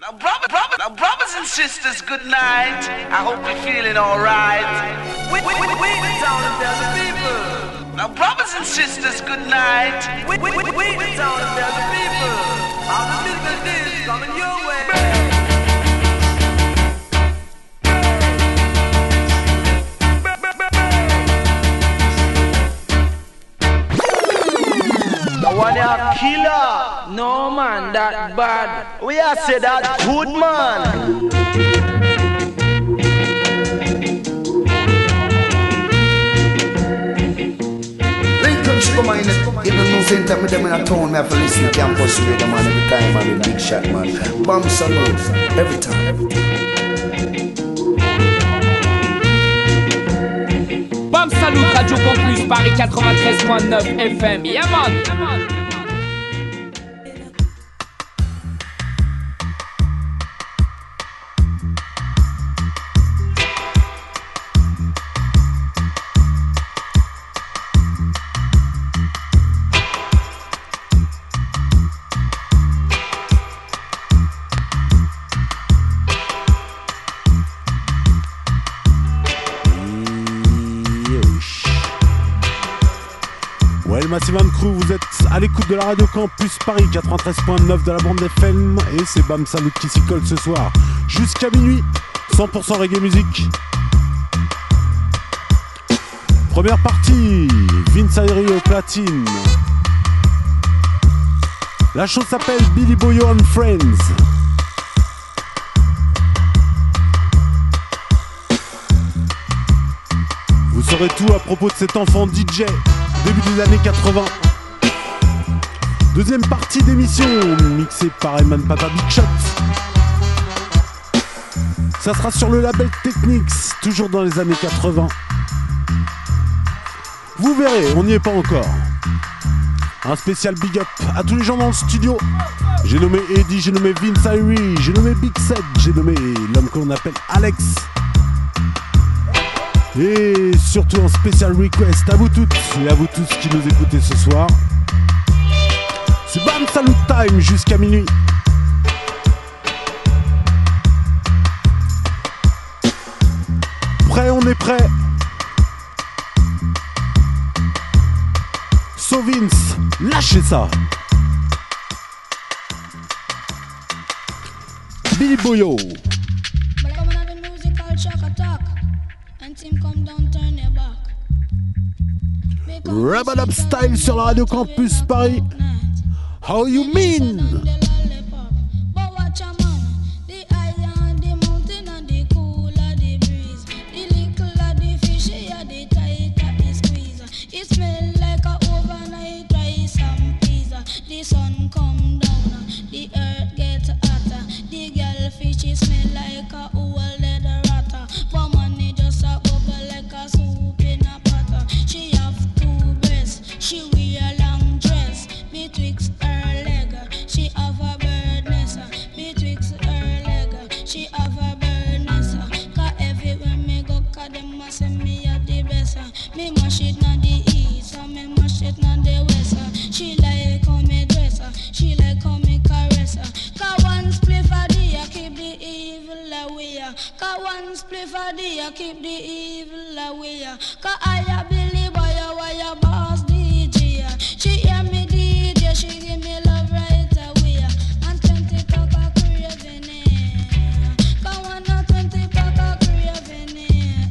Now brothers and sisters, good night. I hope you're feeling alright. We the town and tell the people. Now brothers and sisters, good night. We the town and tell the people. All the business is coming your way. One a killer. No man, that bad. We are say that good man. Lincoln Sugar Man, even no same time with them in a town, me have to listen to campus radio man every time, man, big shot man. Bomb salute, every time. Bam Salut, Radio Campus, Paris 93.9 FM, yeah man. Maximum Crew, vous êtes à l'écoute de la Radio Campus Paris 93.9 de la bande FM et c'est Bam Salut qui s'y colle ce soir jusqu'à minuit, 100% reggae musique. Première partie, Vince Ayri au platine. La chose s'appelle Billy Boyo and Friends. Vous saurez tout à propos de cet enfant DJ début des années 80. Deuxième partie d'émission, mixée par Eman Papa Big Shot. Ça sera sur le label Technics, toujours dans les années 80. Vous verrez, on n'y est pas encore. Un spécial big up à tous les gens dans le studio. J'ai nommé Eddie, j'ai nommé Vince Ayri, j'ai nommé Big Sed, j'ai nommé l'homme qu'on appelle Alex. Et surtout un spécial request à vous toutes et à vous tous qui nous écoutez ce soir. C'est Bam Salut Time jusqu'à minuit. Prêt, on est prêt. So Vince, lâchez ça. Billy Boyo. Rub Up Style sur la Radio Campus Paris. How you mean? The sun come down, the earth get hotter, the girl fish smell like a old leather ratter, but money just a bubble like a soup in a pot. She have two breasts, she wear a long dress, betwixt her leg, she have a bird nest, betwixt her leg, she have a bird nest, cause everywhere me go, cause them a say me a the best, me mash it na the east, and me mash it na the west, she like how me dress, she like how me caress, cause one spliff a day keep the evil away, cause one spliff a day keep the evil away, cause I a Billy Boyo, why a boss DJ, she hear me DJ, she give me love right away, and 20 pack of craving, cause one a 20 pack of craving,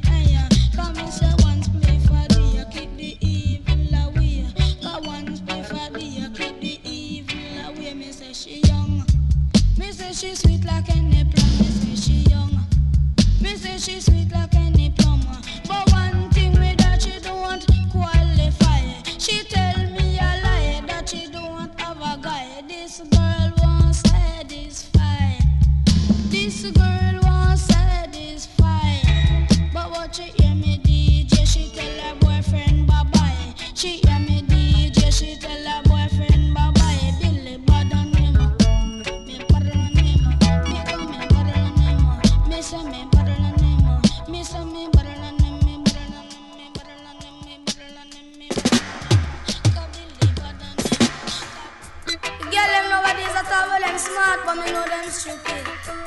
cause me say one spliff a day keep the evil away, cause one spliff a day keep the evil away. Me say she young, me say she sweet like any plum, me say she young, me say she sweet like any plum, but one thing with her she don't qualify. She tell me a lie that she don't have a guy. This girl won't satisfy. This girl won't satisfy. But what she hear me DJ, she tell her boyfriend bye bye. She hear me DJ, she tell her boyfriend bye bye. Billy bad on him, me bad on him, me come me bad on him, me say me bad on him, me say me bad on him, me bad on him, me bad on him, me bad on him, me bad on him. Cause Billy bad on him. Girl them nowadays at all, well them smart, but me know them stupid.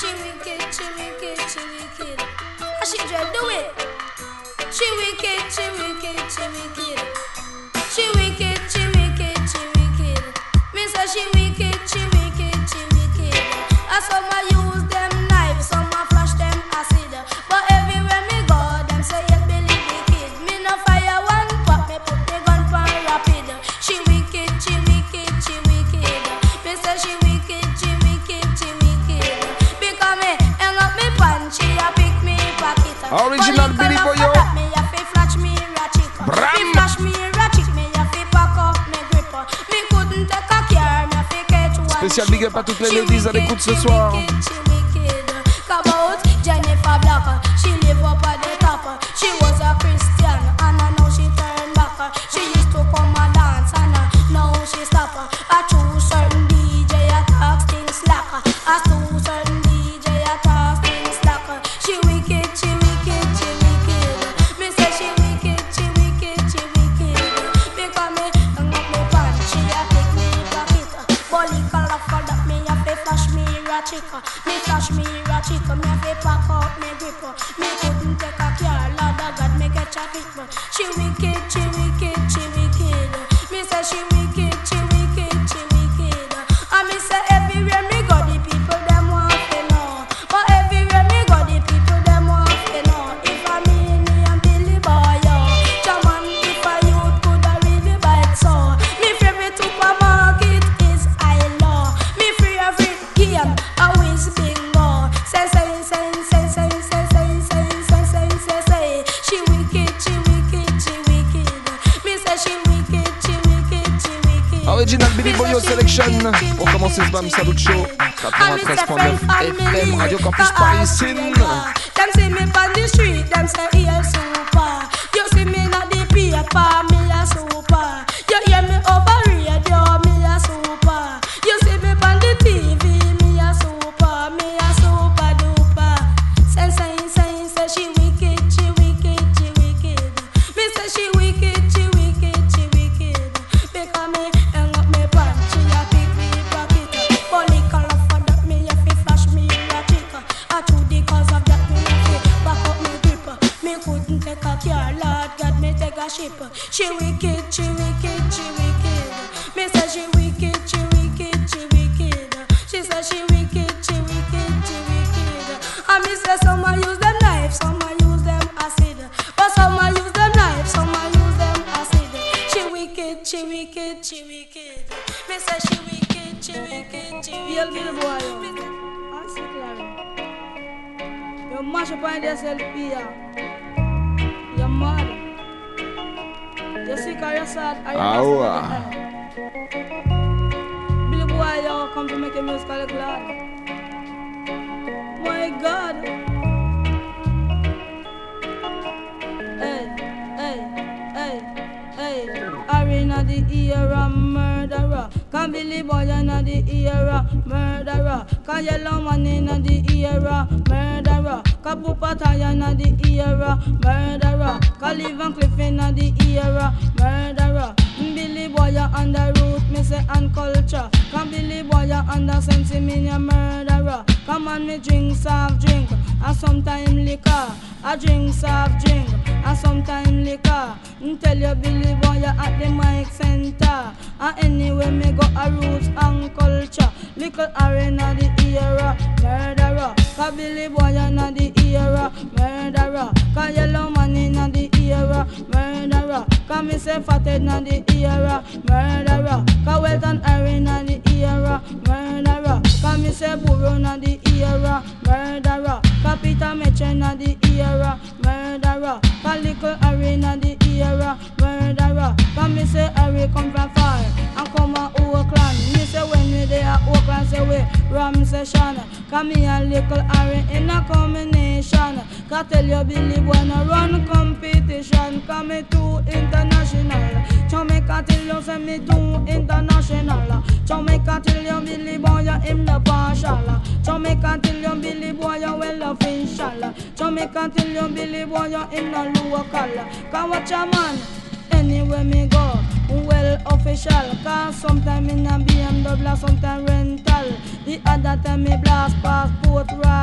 She wicked, she wicked, she wicked. And she just do it. She wicked, she wicked, she wicked. She wicked, she wicked, she wicked. Me say she wicked, she wicked, she wicked. And some I use them knives, some I flash them acid. But everywhere me go, them say you believe the kid. Me no fire one pop, me put the gun for rapid. She wicked, she wicked, she wicked. Me say she wicked, she wicked, she wicked. Because me hang up me pan, she a pick me pocket. Original Billy Boyo. Me a fi flash me ratchet. Me flash me ratchet, me a fi pack up me grip. Me couldn't take a care, me a fi catch one. Spécial big up à toutes les ladies à l'écoute ce soir. About Jennifer Black, she live up at the top. She was a Christian and now she turned back. She used to come and dance and now she stop. I choose certain DJ attacks things slack. I choose certain DJ attacks things slack. She wicked, she wicked, she wicked. Me say she wicked, she wicked, she wicked. Because me hang up me pan, she a take me pocket. Bully color for that me a fi flash me ratchet. Me flash me ratchet, me a fi pack out me grip. Me couldn't take a care, Lord of God me get a kick. She wicked, she wicked, she wicked. Me say she wicked, she wicked, she wicked. And me say everywhere me go the people them want to know. But everywhere me go the people them want to know. If I me and Billy Boy, Jaman, if I youth could I really bite so. Me favorite supermarket is I Law. Me favorite game always bingo. Say. She wicked, she wicked, she wicked. Me say she wicked, she wicked, she wicked. Original Billy Boyo Selection. Pour commencer ce Bam Salut Show. 93.9 FM, Radio Campus Paris. Them see me on the street, them say he a super. You see me not the paper, me a super. You hear me over radio, me a super. You see me on the TV, me a super duper. Say she wicked, she wicked, she wicked. Me say she wicked, she wicked, she wicked. Because me hang up me pan, she a pick me pocket. Bully color for that me a fi flash me ratchet. I true the cause of that me a fi back up me grip. Me couldn't take a care, Lord God me take a ship. She wicked, she wicked, she wicked. Me say she wicked, she wicked, she wicked. She say she wicked, she wicked, she wicked. And me say some a use them knives, some a use them acid. But some a use them knives, some a use them acid. She wicked, she wicked, she wicked. Me say she wicked, she wicked, she wicked. Billy Boy, I see Clary. You mash up on yourself here. You're mad. You sick or you're sad or you're Billy Boy, you come to make a musical glad. My God. Hey. Arena the era murderer. Can Billy Boy in the era murderer. Can Yellow Man in the era murderer. Can Pupataya in the era murderer. Can Lee Van Cleef in the era murderer. Billy Boy on the root, me say and culture. Can Billy Boy on the sense me a murderer. Come on me drink soft drink and sometime liquor. I drink soft drink and sometime liquor. Tell you Billy Boy at the mic center. And anyway me go a roots and culture. Little arena the era murderer. Cause Billy Boy in the era murderer. Cause Yellow Man in the era murderer. Cause me say Fathead in the era murderer. Cause Welton arena the era murderer. Cause me say Burro in the era murderer. Cause Peter Metchen in the era murderer. Cause Little arena the era murderer. Cause me say Harry come from far and come a Oakland. Me say when we there at Oakland say we ram session. Cause me and Little Harry in a combination. Cause tell you Billy Boy no run competition. Cause me too international. Jamaica tell you say me too international. Jamaica tell you Billy Boy you him the partial. Jamaica tell you Billy Boy you well official. Jamaica tell you Billy Boy you him no local. Cause watch a man anywhere me go well official. Cause sometime in a BMW, sometime rental. The other time me blast passport right.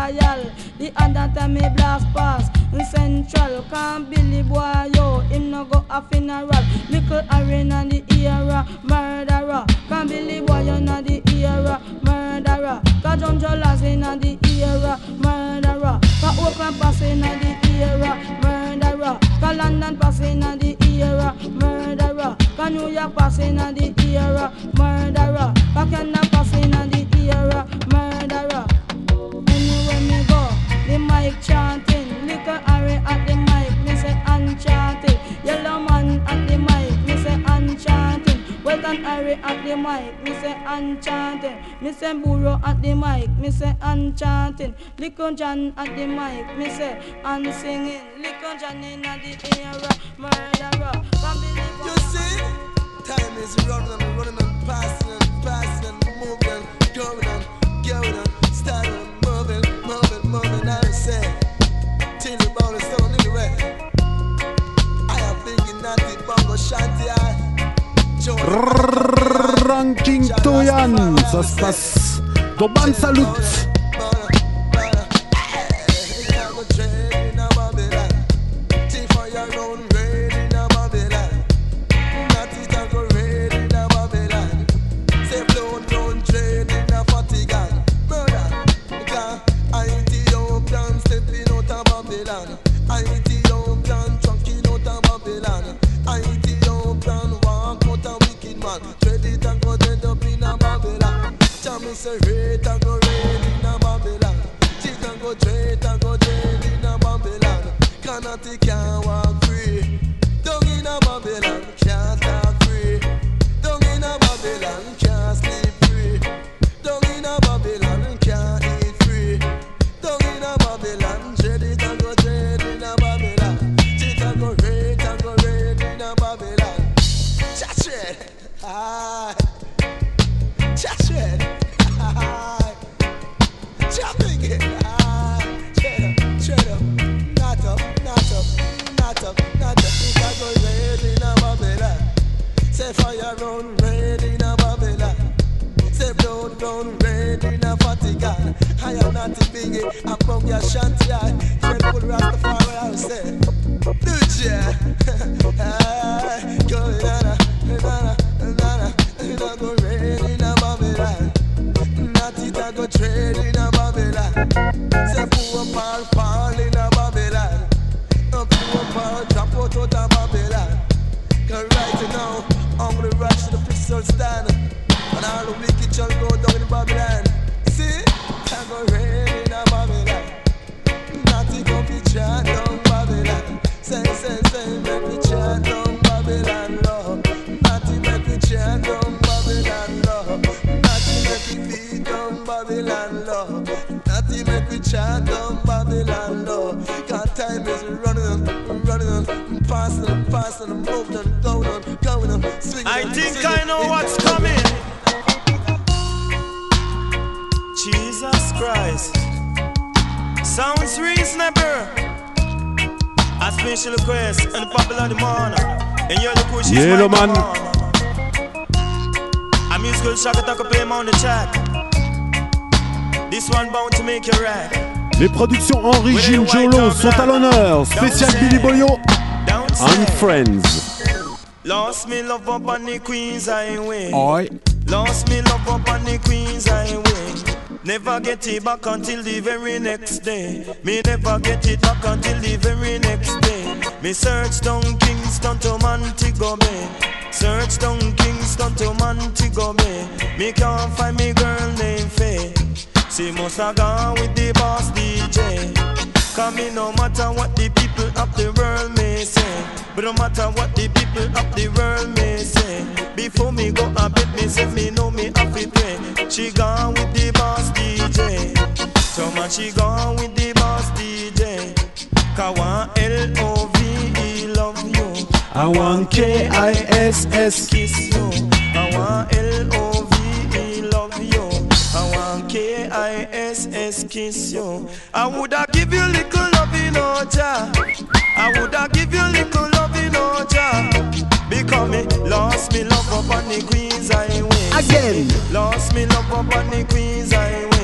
time me blast pass in Central. Can't Billy boy yo, him no go a funeral. Little arena the era, murderer. Can't Billy boy you na the era, murderer. Cause John Jolas in the era, murderer. Cause Oakland pass in the era, murderer. Cause London pass in the era, murderer. Cause New York pass in the era, murderer. Cause Canada pass in the era, murderer. Anywhere me go, the mic chanting. Little Harry at the mic, me say enchanted. Yellow man at the mic, me say enchanted. Welcome Harry at the mic, me say enchanted. Me say Burro at the mic, me say enchanted. Little John at the mic, me say and singing. Little John in the era, murderer. You see, time is running and passing and moving, going on, starting moving. I say, till the ball is so anyway. I am thinking that the bongo shanty. Ranking Toyan, ça se passe dans Ban Salut. Say rate and go raid in a Babylon. She can go trade in a Babylon. Cannot can't walk free. Down in a Babylon, can't talk free. Down in a Babylon, can't sleep free. Down in a Babylon, can't eat free. Down in a Babylon, trade it and go trade in a Babylon. She can go raid in a Babylon. Chat red, ah, chat red. Jumping it, straight up, not up. If I go red in a Babylon, say fire run red in a Babylon, say blood run red in a Vatican. I am not a biggie, I'm from your shanty. Fred Bull Rastafari, I'll say, Lucia, go nana, go red in a Babylon. I go trade in a Babylon. Say poor Paul in a Babylon. Poor Paul drop out of Babylon. Cause right now I'm gonna rush to the pistol stand, and all the wicked shall go down in Babylon. See, I go raid in a Babylon. Nothing gonna be chat down Babylon. Say, make me chat down Babylon, Lord. Nothing make me chat down Babylon, Lord. Nothing make me feed down Babylon, Lord. Nothing make me chant down Babylon, Lord. Cause time is running on, passing, moving on, going on, swinging. I think I know what's coming. Jesus Christ. Sounds reasonable. A special request and the popular demand. And you're the push is Yellow man. A musical shock attack play on the track. This one bound to make you rack. Les productions Henri Gilles Jolo sont à l'honneur. Spécial Billy Boyo and Friends. Lost me love up on the Queen's Highway. Oi. Lost me love up on the Queen's Highway. Never get it back until the very next day. Me never get it back until the very next day. Me search down Kingston to Montego Bay. Search down Kingston to Montego Bay. Me can't find me girl named Faye. She must have gone with the boss DJ. Cause me no matter what the people of the world may say, but no matter what the people of the world may say, before me go a bed me say me know me have to pray. She gone with the boss DJ. So much she gone with the boss DJ. Cause one L-O-V-E love you. I want K-I-S-S kiss you. I want L-O-V-E love you. I want K-I-S-S kiss you. I woulda give you little love in Oja. I woulda give you little love in Oja. Because me lost me love up on the Queen's Highway. Again. Lost me love up on the Queen's Highway.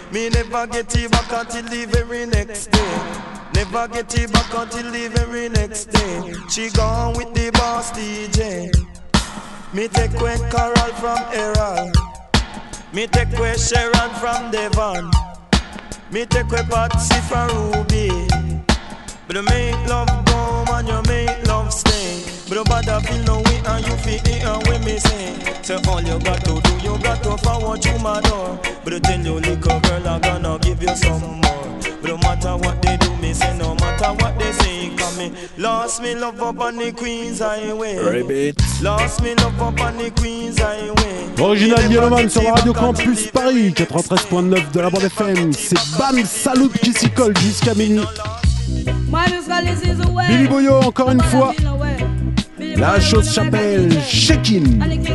Me never get it back until the very next day. Never get it back until the very next day. She gone with the boss DJ. Me take away Carol from Errol. Me take away Sharon from Devon. Me take away Patsy from Ruby. But you make love go and you make love stay. But you bother feel no way and you feel it and when me say. So all you got to do, you got to forward to my door. But you tell you little girl I'm gonna give you some more. But no matter what they do, me say no matter what they say. Come me, lost me love up on the Queen's Highway. Repeat. Lost me love up on the Queen's Highway. Original Yellowman sur la Radio Campus Paris 93.9 de la bande FM. C'est Bam Salut qui s'y colle jusqu'à minuit. Billy Boyo encore une fois. La chose s'appelle Shakin'.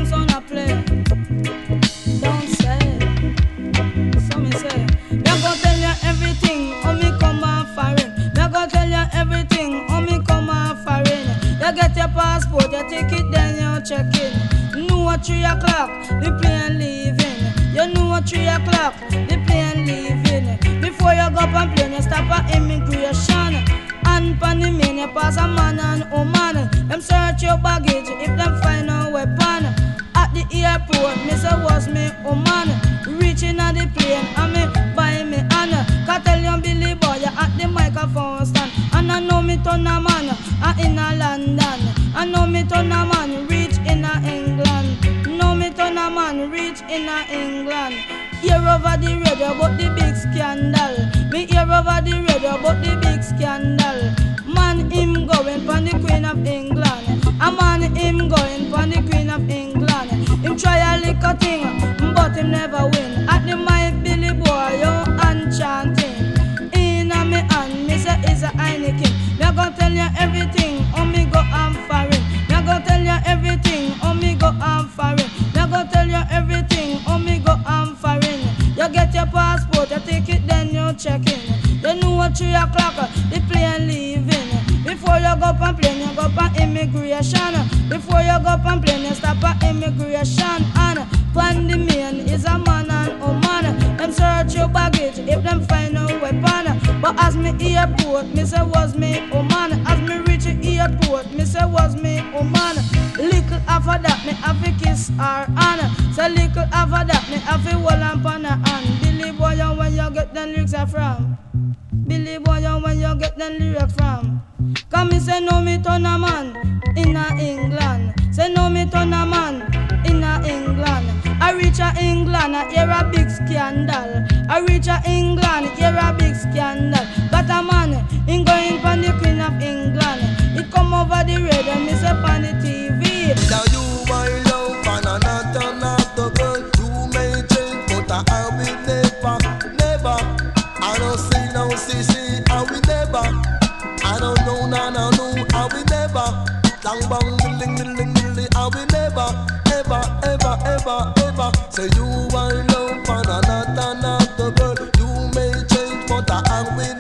You get your passport, you take it, then you check in. You know at 3 o'clock, the plane leaving. You know at 3 o'clock, the plane leaving. Before you go up on plane, you stop at immigration. And pan the main, you pass a man and woman. Them search your baggage if them find a weapon. At the airport, me say was me woman. Reaching at the plane, and me buy me honor. Can tell you Billy Boy, you at the microphone stand. And I know me turn a man in a London. I know me turn a man reach in a England. Know me turn a man reach in a England. Hear over the radio about the big scandal. Me hear over the radio about the big scandal. Man him going for the Queen of England. A man him going for the Queen of England. Him try a little thing, but him never win. At the mic Billy Boy, yo, and chanting. In a me hand, me say is a Heineken. Me gonna tell you everything, oh me go and foreign. Me gonna tell you everything, oh me go and foreign. Me gonna tell you everything, oh me go and foreign. You get your passport, you take it, then you check in. You know at 3 o'clock, the plane leaving. Before you go up on plane, you go up on immigration. Before you go up on plane, you stop at immigration. And on the main is a man and woman. Them search your baggage if them find a weapon. But as me airport, me say was me woman. As me reach the airport, me say was me woman. Little after that, me have to kiss her hand. So little after that, me have to hold on her hand. Billy Boy, when you get them lyrics from? Billy Boy, when you get them lyrics from? Come me say no me turn a man in a England. Say no me turn a man in a England. I reach a England, I hear a big scandal. I reach a England, hear a big scandal. Got a man in going for the Queen of England. It come over the radio, me say on the TV. Now you my love and another not the girl. You may change, but I will never, never. I don't see no CC, I will never. I don't know, no, I will never. Long bang, dilling, I will never, ever, ever, ever, ever. Say you are love and another not the girl. You may change, but I will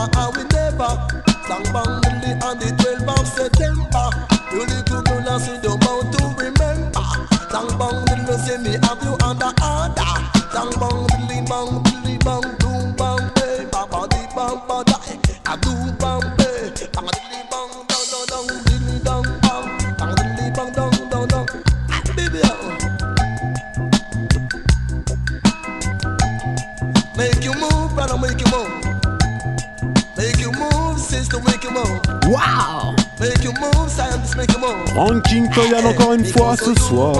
never. Long bang, dilling, on the 12th of September. You little girl, I see the bound to remember. Long bang, dilling, say me have you under order. Long bang, dilling, bang, boom, bang, hey, baba, di, bang, badai. I do bang, hey, bang, dilling, bang, dong, dilling, dong, bang, dilling, bang, dong. Baby, make you move, brother, make you move. Make you move, sister, make you move. Wow! Make you move, scientist, make you move. Ranking Toyan encore une fois ce soir.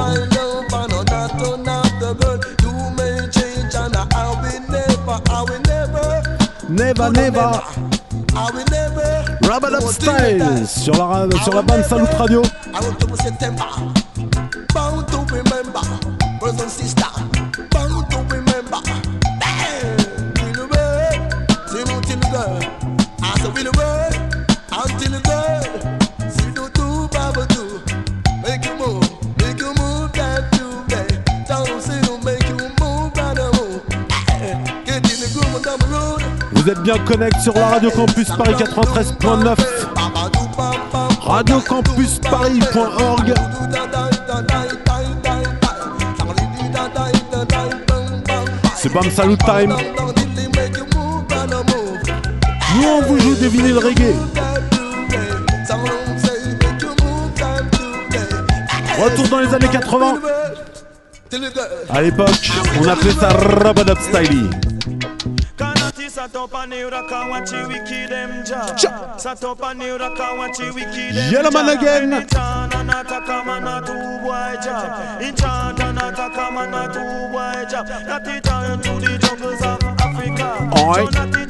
Never. Rub It Up Style sur la bande Salut Radio. Bound to remember, brothers and sisters. Bound to remember. Will work, till the girl. I said will work until the girl. See do Baba do. Make you move that you make. Don't see you make you move, brother move. Get in the groove down the road. Vous êtes bien connectés sur la Radio Campus Paris 93.9, radiocampusparis.org. C'est Bam Salut Time. Nous on vous joue des vinyles reggae. Retour dans les années 80. À l'époque, on appelait ça Rub-a-Dub Style. Yellow Man again. Oi.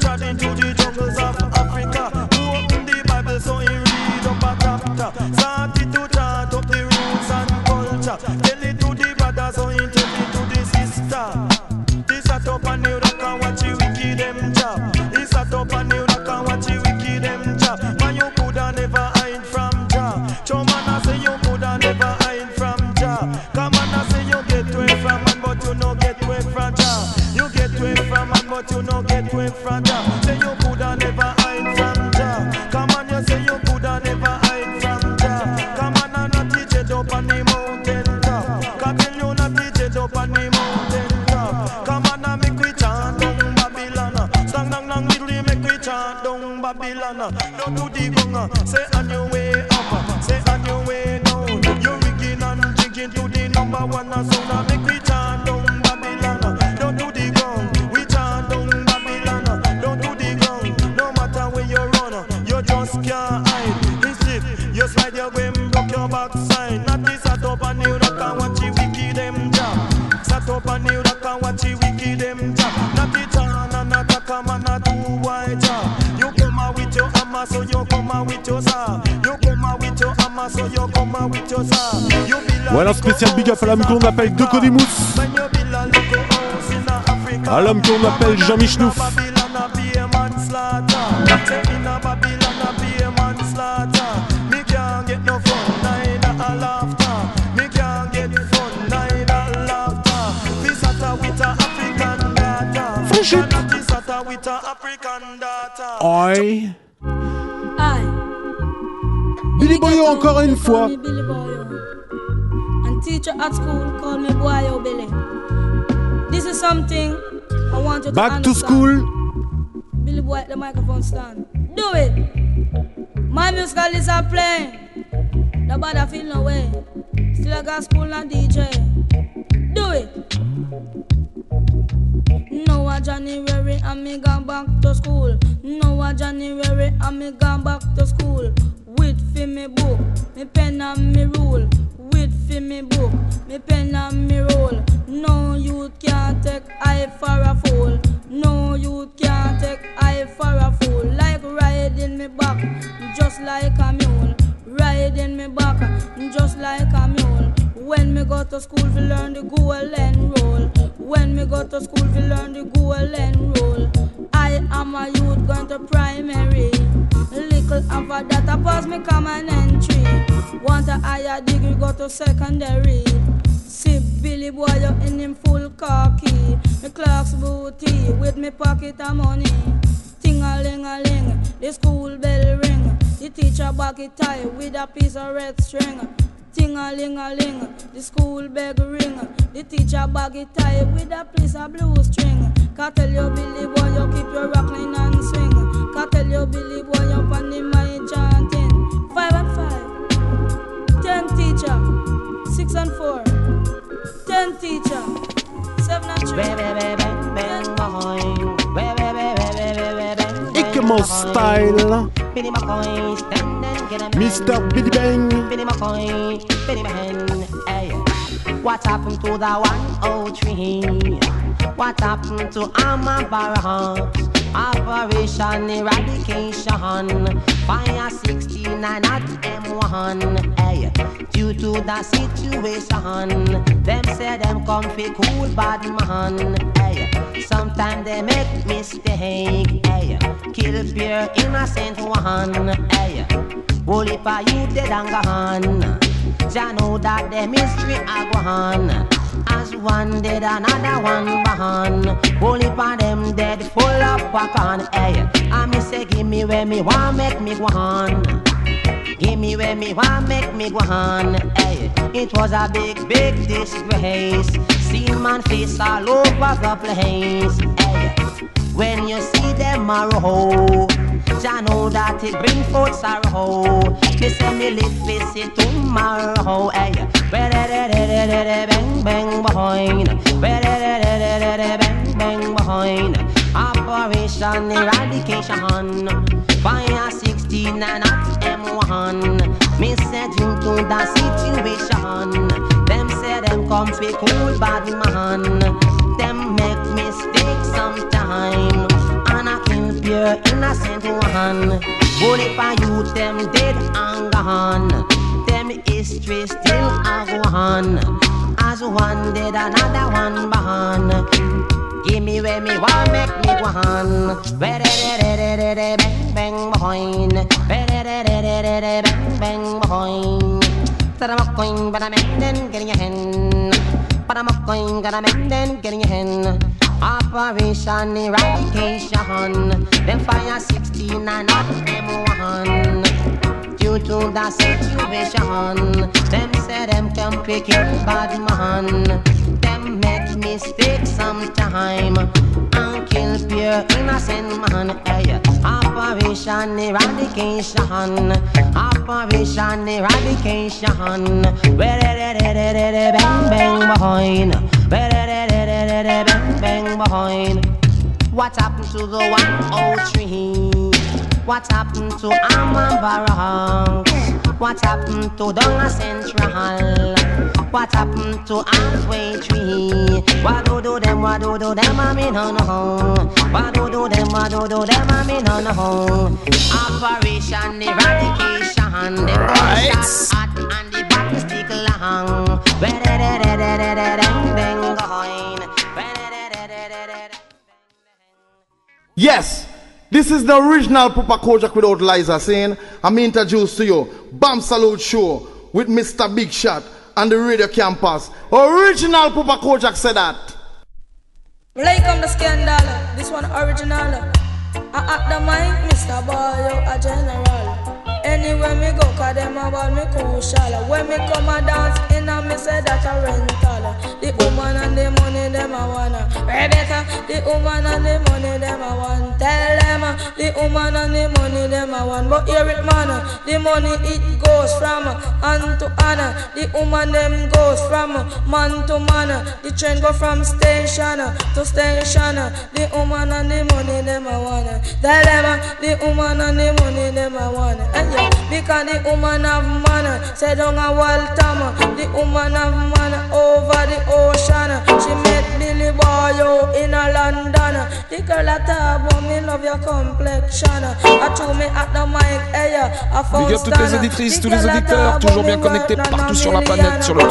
Tell it to the brothers, so he tell it to the sister. This a top and you rock and watch you wicked them job. This a top and you rock and watch you wicked them job. Man, you coulda never hide from Jah. Show man I say you coulda never hide from Jah. Come on I say you get away from man, but you no get away from Jah. You get away from man, but you no get away from Jah. Say you coulda never hide from Jah. Come on, you say you coulda never hide from Jah. Come on and not teach it up on the mountain top. Come tell you not teach it up on the mountain top. Come on and make we chant down Babylon. Slang dang dang diddly make we chant down Babylon. Don't do the gonga, say on your way up, say on your way down. You're rigging and jigging to the number one sound. Make we chant down Babylon. Don't do the gong, we chant down Babylon. Don't do the gong, no matter where you run, you just can't hide. Instead, you slide your way, broke your backside. Not this sat up and you rock and watch you wicked them job. Sat up and you rock and watch you wicked them job. Not the turn and not a come and not do white job. You come out with your hammer, so you come out with your saw. You come out with your hammer, so you come out with your saw. Ouais, alors spécial big up à l'homme qu'on appelle Docodimous. À l'homme qu'on appelle Jean Michnouf. Oi. Billy Boyo encore une fois. And teacher at school called me Boyo Billy. This is something I want you to Back understand. to school. Billy Boy at the microphone stand. Do it. My musical is a playing. Nobody feel no way. Still I got school and DJ. Do it. No a January and me gone back to school. No a January and me gone back to school. With fi me book, me pen and me rule. With fi me book, me pen and me roll. No youth can't take I for a fool. No youth can't take I for a fool. Like riding me back, just like a mule. Riding me back, just like a mule. When me go to school we learn the golden rule. When me go to school we learn the golden rule. I am a youth going to primary. Little after that I pass me common entry. Want a higher degree go to secondary. See Billy Boy in him full khaki. Me clocks booty with me pocket of money. Ting-a-ling-a-ling, the school bell ring. The teacher bag it tie with a piece of red string. Ting-a-ling-a-ling, the school bell ring. The teacher bag it tie with a piece of blue string. Can't tell you Billy Boy you keep your rockline and swing. Can't tell you Billy Boy you on the mind chanting. 5 and 5, 10 teacher, 6 and 4, 10 teacher, 7 and 3. Ikemo style. Mr. Billy Bang. What happened to the 103? What happened to Armor Barracks? Operation Eradication. Fire 69 at M1. Hey, due to the situation, them say them come fi cool bad man. Hey, sometimes they make mistake. Hey, kill pure innocent one. Hey, only for you dead and gone. Jah know that the mystery a go on. As one dead, another one born. Only for them dead, full of popcorn. Hey, I me say, give me where me want, make me go on. Give me where me want, make me go on. Hey, it was a big, big disgrace. See man face all over the place. Hey, when you see them a roll, Jah know that it bring forth sorrow. Me say me live face it tomorrow. Hey, bang bang behind, bang bang behind. Operation Eradication, Fire 16 and at M1. Me say due to the situation, them say them come fi cool bad man. Them make mistakes sometime, and I kill pure innocent one. Bullet for youth, them dead and gone. Them history still a go on. As one dead, another one born. Give me where me want, make me go on. Bang bang behind, bang bang behind. But I'm a coin, but I'm then getting a hen. But I'm a coin, got a man then getting a hen. Operation Eradication, them Fire 16 and not M1. Due to the situation, them say them can pick it bad man. Them make mistakes sometime and kill pure innocent man. Hey, Operation Eradication, Operation Eradication. Bang bang behind, bang bang behind. What happened to the 103? What happened to Amman Barracks? What happened to Donga Central? What happened to Halfway Tree? What do them, I mean no no. What do them, I mean no no. Operation Eradication, the gunshots hot and the battle stick long. Yes, this is the original Papa Kojak without Liza saying, I'm introduced to you, Bam Salute Show with Mr. Big Shot and the Radio Campus. Original Papa Kojak said that. Like on the scandal, this one original. I at the mic, Mr. Boy, a general. Anywhere me go, cause them about me crucial. When me come a dance in a me say that a rental. The woman and the money them a wanna. Rebecca, the woman and the money them a want. Tell them the woman and the money them a want. But hear it man, the money it goes from hand to hand. The woman them goes from man to man. The train go from station to station. The woman and the money them a want. Tell them the woman and the money them a want. Because the woman have man, say down a Waltham. The woman have man over the ocean. She met Billy Boy in a London. The girl a talk about me love your complexion. I threw me at the mic, hey, I found Big up toutes les auditrices, tous les auditeurs, toujours bien connectés partout sur la planète, sur le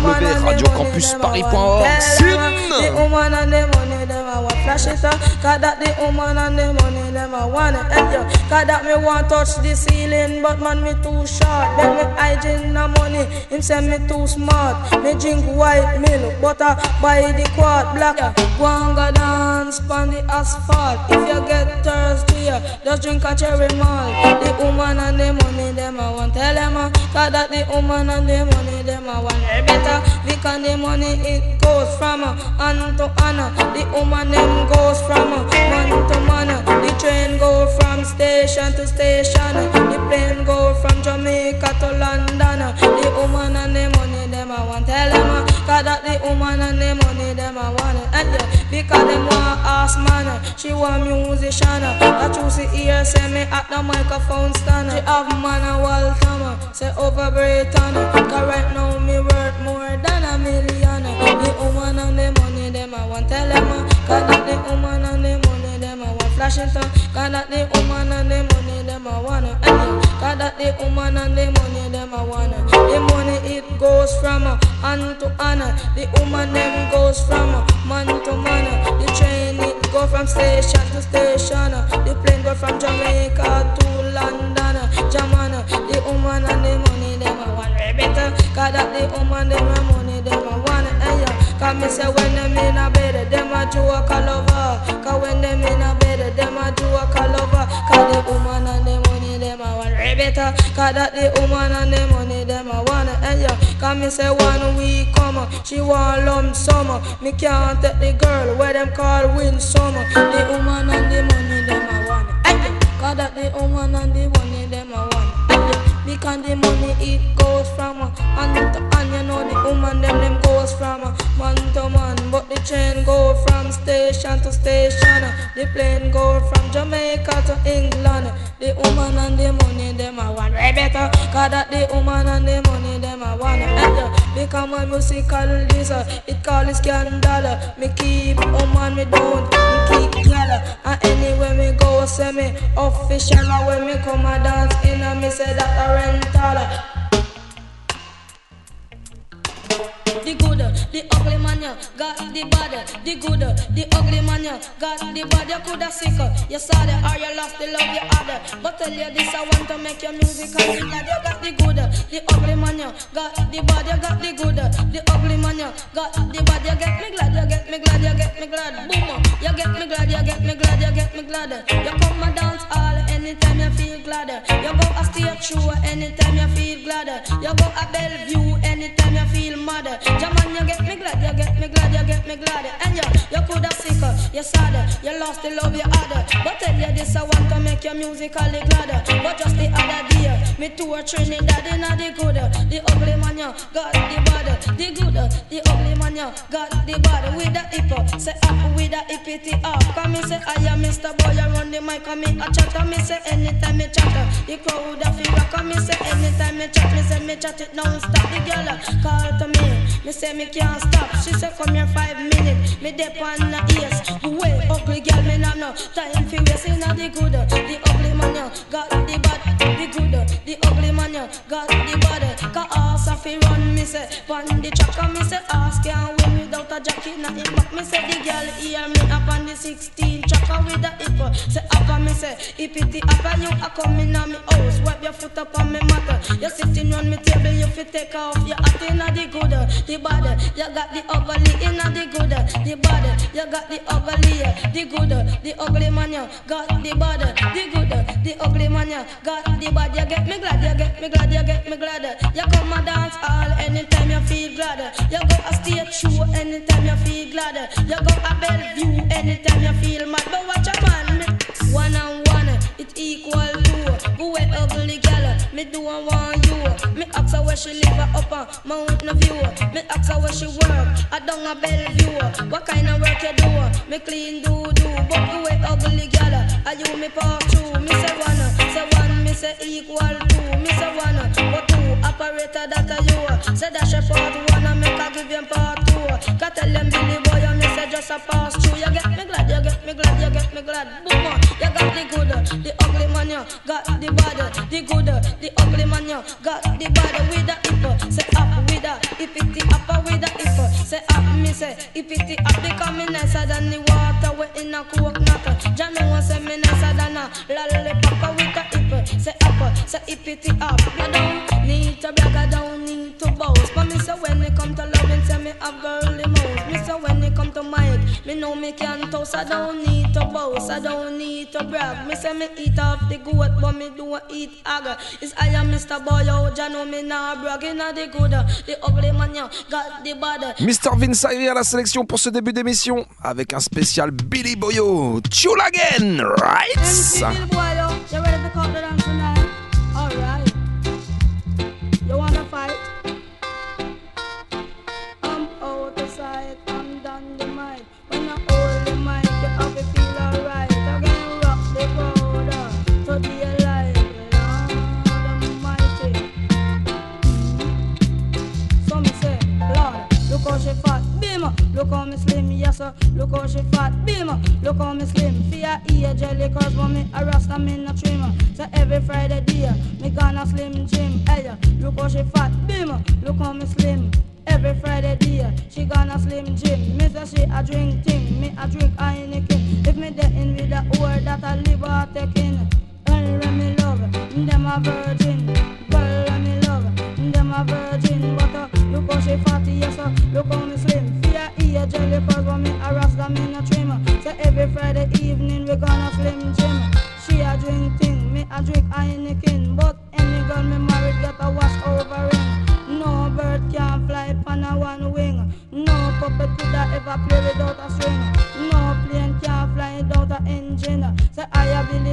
3xW.radiocampusparis.org. The woman and the money them I want flash it up. Cause that the woman and the money them I want it. Cause that me want touch the ceiling, but man me too short. Then me hygiene the money, him say me too smart. Me drink white milk, butter by the quart black. Go and go dance on the asphalt. If you get thirsty, just drink a cherry malt. The woman and the money them I want. Tell them cause that the woman and the money them I want. Better because the money it goes from hand to hand. The woman them goes from man to man. The train go from station to station. The plane go from Jamaica to London. The woman and the money them I want. Tell them cause that the woman and the money them I want. Because them want ask man, she want musician. I choose the ear, say me at the microphone stand. She have man a Waltham, say over Britain. Cause right now me worth more than $1 million. The woman and the money them I want. Tell them cause that the woman and the money them I want. Flash it up, cause that the woman and the money them I want. Cause that the woman and the money them I want. The money it goes from hand to hand. The woman them goes from man to man. The train it go from station to station. The plane go from Jamaica to London. Jamaica, the woman and the money them I want. Better, cause that the woman them and money them I want. Cause me say when them in a bed, them a joke all over. Cause when them in a bed, them a joke all over. Cause the woman and the money them a want. Better, cause that the woman and the money them a want. Cause me say 1 week come, she want lump sum. Me can't take the girl where them call win sum. The woman and the money them a want. Cause Cause that the woman and the money them a one. Because the money it goes from hand to hand. You know the woman them goes from man to man. But the train go from station to station. The plane go from Jamaica to England. The woman and the money them a one. Right better. Cause that the woman and the money them a one. Because my musical this it call it scandal. Me keep woman me don't me keep girl. And anywhere me go say me official. And when me come a dance in me say that a rental. The good, the ugly man, you got the bad. The good, the ugly man, you got the bad. You coulda sick, you saw it, or you lost the love you had. But tell you this, I want to make your music and you got the good, the ugly man, you got the bad. You got the good, the ugly man, you got the bad. You get me glad, you get me glad, you get me glad. Boom, you get me glad, you get me glad, you get me glad. You come and dance all anytime you feel glad. You go a stage show anytime you feel glad. You go a Bellevue anytime you feel mad. Jaman, you get me glad, you get me glad, you get me glad. And you coulda sick, you sad, you lost the love you had. But tell you this, I want to make your musically glad. But just the other day, me tour Trinidad in the good, the ugly man, you got the bad. The good, the ugly man, you got the bad. With the hip, say up with the hippity up. Come me say, I am Mr. Boy, I run the mic, come me a chatter. Me say, anytime me chatter, the crowd a feel rock. Come me say, anytime me chat, me say, me chat it non-stop. The girl call to me. Me say me can't stop. She say come here 5 minutes. Me dip on the ears. Way ugly girl, me nah no time for waste. Inna the good, the ugly man you got the bad. The good, the ugly man you got the bad. Cause ass a fi run, me say pon the track. And me say ass can't win without a jacket. Nah in back. Me say the girl hear me up on the 16 track with the hip. Say up and me say hippity up and you a come inna me house. Wipe your foot up on me mat. You sitting on me table, you fi take off your hat. Inna the good, the bad, you got the ugly inna the good, the bad, you got the ugly, the good, the ugly man, you got the bad, the good, the ugly man, you got the bad. You get me glad, you get me glad, you get me glad. You come and dance all anytime you feel glad. You go a stage show anytime you feel glad. You go a Bellevue anytime you feel mad. But watch a man, one and one, it equal to go away ugly girl. Me do and want you. Me ask her where she live up on Mountain View. Me ask her where she work, I down a Bellevue. What kind of work you do? Me clean do. But you a ugly girl, are you me part two? Me say one, me say equal to. Me say one, but two, operator that are you. Say that she part one and make her give you part two. Can tell them Billy boy and me say just a pass through. You get me glad, you get me glad, you get me glad. Boom, you got the good, the ugly man, you got the bad. The good, the ugly man, you got the bad. With the hip, say up with the hippity up with the hip. Say up, me say hippity up. Because me nicer than the water we in a coconut. Jah know say me nicer than a lollipop with the hip. Say up, say hippity up. I don't need to brag, I don't need to boast. But me say when it come to loving, say me have girly mouth. Me say when it come to mic, me know me can toast. I don't need to boast, I don't need to brag. Me say me eat off the goat, but me do eat agger. It's I am Mr. Boy, oh, Jah know me nah bragging at the good, the ugly man, you got the bad. Mr. Vince Ayri à la sélection pour ce début d'émission avec un spécial Billy Boyo, Chulagen, right? Billy Boyo, you ready to come to dance tonight? Alright. You wanna fight? I'm out of sight, I'm done the mic. When I hold the mic, you have to feel alright. I can rock the crowd to the alive. Lord Almighty. So me say, Lord, look how she fat, beam. Look how me slim, yes sir. Look how she fat, beam. Look how me slim. Fear ear jelly curls, but me a rasta me no trim. So every Friday day, me gonna slim gym. Hey, look how she fat, beam. Look how me slim. Every Friday day, she gonna slim gym. Me say she a drink thing, me a drink Heineken. If me dey in with a whore that a live or taking. Girl me love, them a virgin. Girl me love, them a virgin. But look how she fat, yes sir. Look how me slim. Fear ear jelly curls, but me a rasta me no trim. So every Friday evening we gonna slim gym. She a drink thing, me a drink Heineken. But any girl me married get a wash over ring. No bird can fly on a one wing. No puppet could ever play without a string. No plane can fly without a engine. Say I a Billy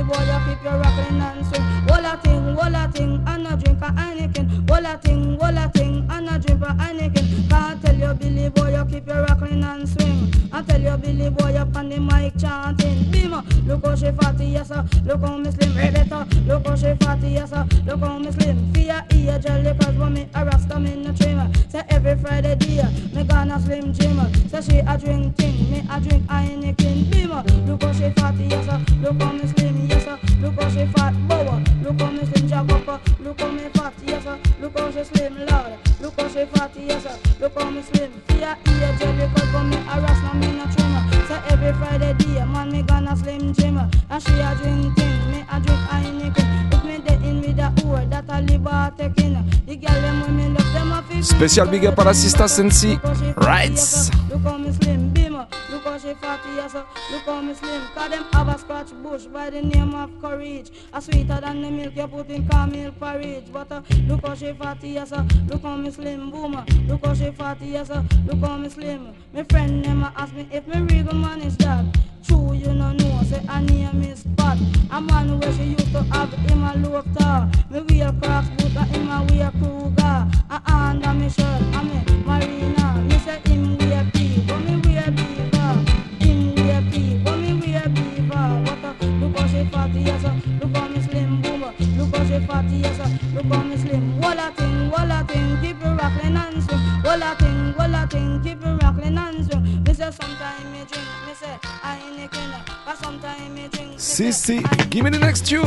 boy, you keep your rockin' and swing. Wall a thing, and a drink a Heineken. Wall a thing, and a drink a Heineken. Can't tell you, Billy boy, you keep your rockin' and swing. I tell you, Billy boy, up on the mic chanting. Beamer, look how she fatty, yes sir. Look how me slim, better. Look how she fatty, yes sir. Look how me slim. Fear ear jelly, cause when me a rasta me no trimmer. Say every Friday day, me gonna slim Jimmer. Say she a drink thing, me a drink Heineken. Beamer, look how she fatty, yes sir. Look how me slim, yes sir. Look how she fat, bower. Look how me slim, jack up. Look how me fat, yes sir. Look how she slim, Lord. Look how she fatty, yes sir. Look how me slim. Fear ear jelly, cause when me a rasta me no trimmer. Say every Friday day, man me gonna slim Jimmer. And she a drink thing, me a drink Heineken. If me dead in with the whore, that a liver taking. The girl them when me love them a feel. Spécial big up à la Sista Sensi. Rights. Look how me slim, Beamer. Look how she fatty, yes sir. Look how me slim. Cause them have a scratch bush by the name of courage. A sweeter than the milk you put in caramel porridge. But look how she fatty, yes sir. Look how me slim, Boomer. Look how she fatty, yes sir. Look how me slim. My friend never ask me if me regal man is that. True, you no know, say her name is Pat. A man where she used to have him a low tar. Me wear Crocs boot and him a wear Kruger. A under me shirt, I me Marina. Me say him wear P, but me wear Beaver. Him wear P, but me wear Beaver. What look how she fatty, yes sir. Look how me slim, Boomer. Look how she fatty, yes sir. Look how me slim. Walla thing, keep you rockin' and swing. Walla thing, keep you rockin' and swing. Me say sometime me drink, me say Heineken. But sometime me drink. Si, give me the next tune.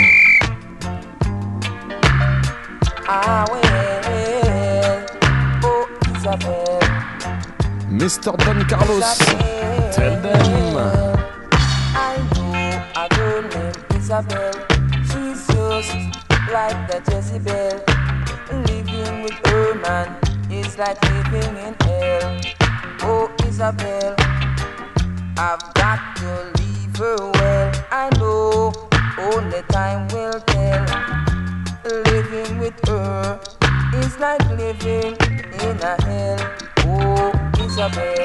I will, oh Isabel. Mr. Don Carlos, tell them. I know a girl named Isabel. She's just like the Jezebel. Living with her man is like living in hell. Oh Isabel, I've got to leave her well. I know only time will tell. Living with her is like living in a hell. Oh Isabel,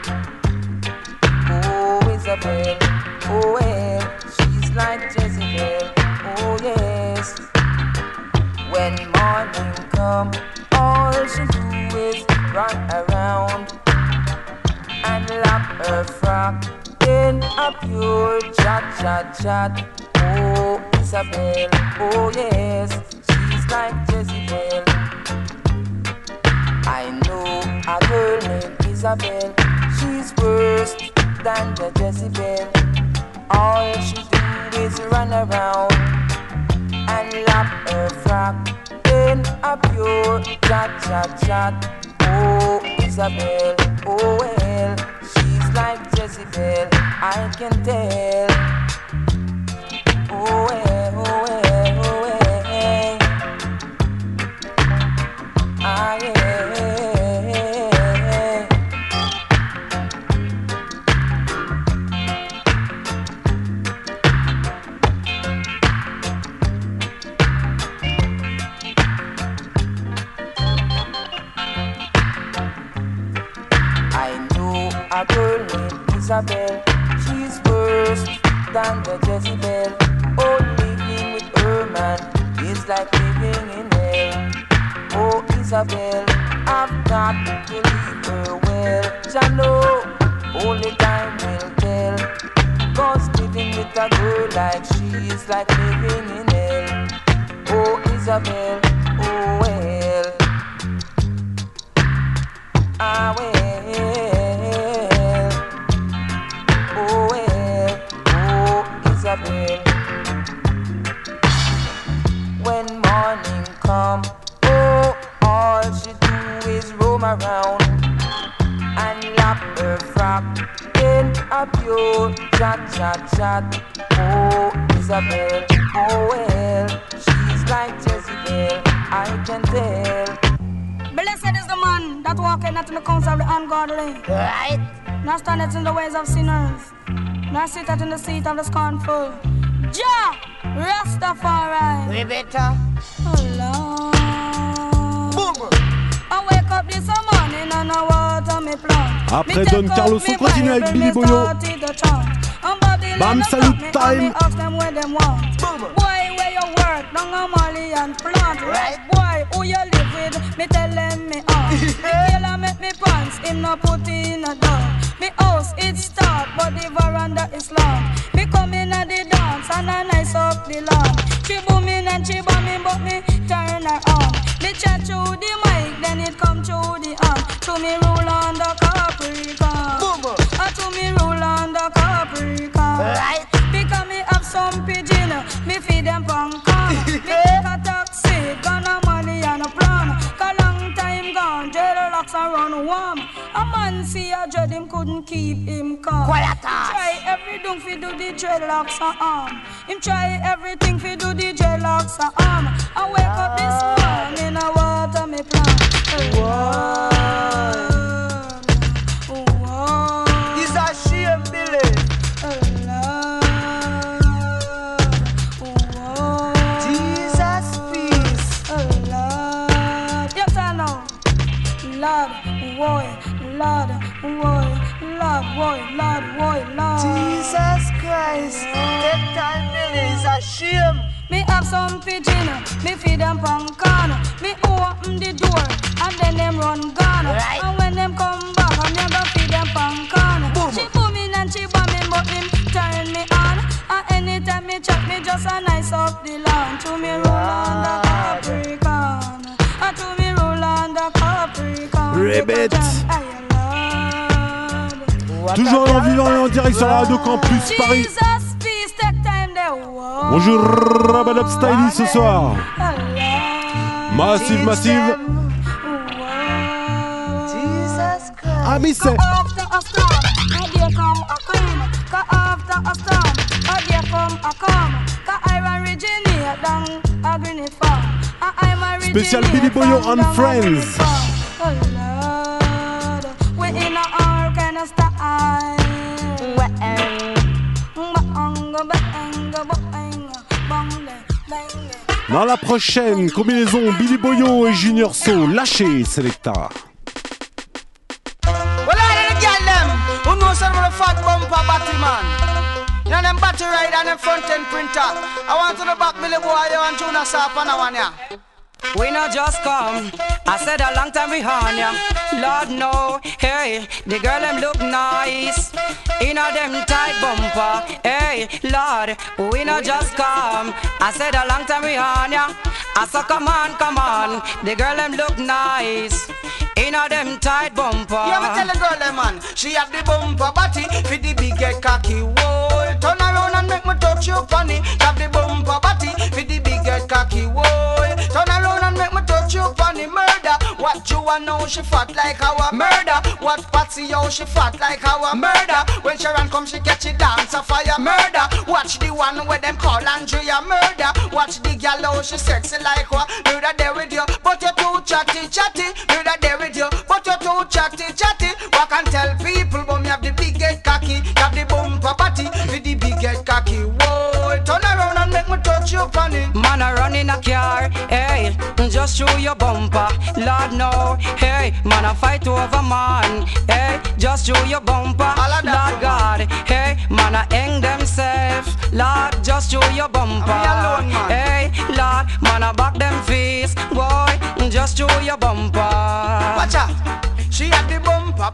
oh Isabel, oh well, she's like Jezebel. Oh yes, when morning come, all she do is run around and lap her frock in a pure chat. Oh Isabel, oh yes, she's like Jezebel. I know a girl named Isabel. She's worse than the Jezebel. All she do is run around and lap her frock in a pure chat. Oh Isabel, oh well, she's like Jezebel, I can tell. Oh well, oh well, oh well. Ah yeah. A girl named Isabel, she's worse than the Jezebel. Oh, living with her man is like living in hell. Oh, Isabel, I've got to leave her well. I know only time will tell. 'Cause living with a girl like she is like living in hell. Oh, Isabel, oh well, ah well. When morning come, oh, all she do is roam around and lap her frock in a pure chat. Oh, Isabel, oh well, she's like Jezebel, I can tell. Blessed is the man that walketh not in the counsel of the ungodly. Right. Nor standeth in the ways of sinners, nor sitteth in the seat of the scornful. Jah, Rastafari. We better. Oh Lord. Boom. I wake up this morning and I water me plant. Après Don Carlos, on continue avec Billy Boyo. I'm Bobby Bam Salute time. Ask them where them want. Boy, where you work? Down a Mali and plant. Right, boy, who you live with? Me tell them me on. Me killer make me pants, him no put in a door. Me house it start, but the veranda is long. Me come in at the dance and I nice up the lawn. She booming and she bombing, but me turn her on. Me chat through the mic, then it come through the arm. To me roll on the Capricorn. To me roll on the Capricorn. Right. Because me have some pigeon, me feed them pumpkin. Me take a taxi, gonna money and a plan. Cause long time gone, dreadlocks are run warm. A man see a dread, him couldn't keep him calm. Try everything fi do the dreadlocks a arm. Him try everything fi do the dreadlocks a arm. I wake up this morning, I water me plant. It's a shame, Billy. Jesus peace. Yes, I know. Lord, boy, Lord, boy, Lord, boy, Lord, boy, Lord. Jesus Christ, that time, Billy, is a shame. Me have some pigeon, me feed them pumpkin. Me open the door, and then them run gone. Right. And when them come back, I'm gonna feed them pumpkin. She booming and she bombing, but him turn me on. And anytime me chat, me just a nice up the lawn. To me roll on the Capricorn. And to me roll on the Capricorn. Ribbit. Toujours en vivant et en direct sur la Radio Campus Paris. Bonjour Rabadab Styly ce soir. Massive, massive. Ami c'est. After a storm, there come a queen. After a storm, there come a calm. I'm originated down a green farm. Spécial Billy Boyo and Friends. Oh Lord, we in all kind of style. Dans la prochaine combinaison, Billy Boyo et Junior So, lâchez Selecta. Well, I didn't get them. Who knows some of the fat bumper battery man? You know them battery ride and them front end printer. I want to the back Billy Boyo and Junior Sap and I want ya. We not just come, I said a long time behind ya. Lord no, hey, the girl them look nice in a them tight bumper. Hey, Lord, we not just come, I said a long time behind ya. I said come on, the girl them look nice in a them tight bumper. Yeah, me tell the girl them man, she have the bumper body for the big head cocky. Whoa, turn around and make me touch you funny. Have the bumper body for the big head cocky. Whoa, turn around and make me touch you funny. Murder, what you want know she fat like our murder. What Patsy yo she fat like our murder. When Sharon come she catch it dance a fire murder. Watch the one where them call Andrea murder. Watch the gal how she sexy like what. Murder there with you, but you too chatty. Murder there with you, but you too chatty. What can tell people but me have the big head cocky. Have the bumper body with the big head cocky. Whoa, turn around and make me touch you funny. Man a run in a car, hey, just show your bumper. Lord no, hey, man a fight over man, hey, just show your bumper. Lord God, hey, man a hang themselves. Lord, just show your bumper. Hey, Lord, man a back them face. Boy, just show your bumper. Watch out. She had the bumper.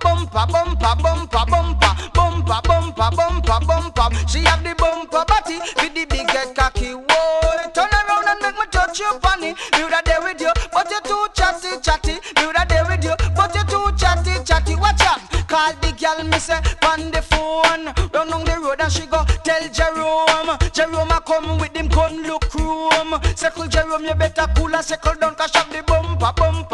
She have the bumper body with the big head cocky. Whoa, turn around and make me touch you funny. You that there with you, but you too chatty. You that there with you, but you too chatty. Watch out. Call the girl me say on the phone. Run on the road and she go tell Jerome. Jerome a come with him gun look room. Circle Jerome, you better cool and circle down 'cause shove the bumper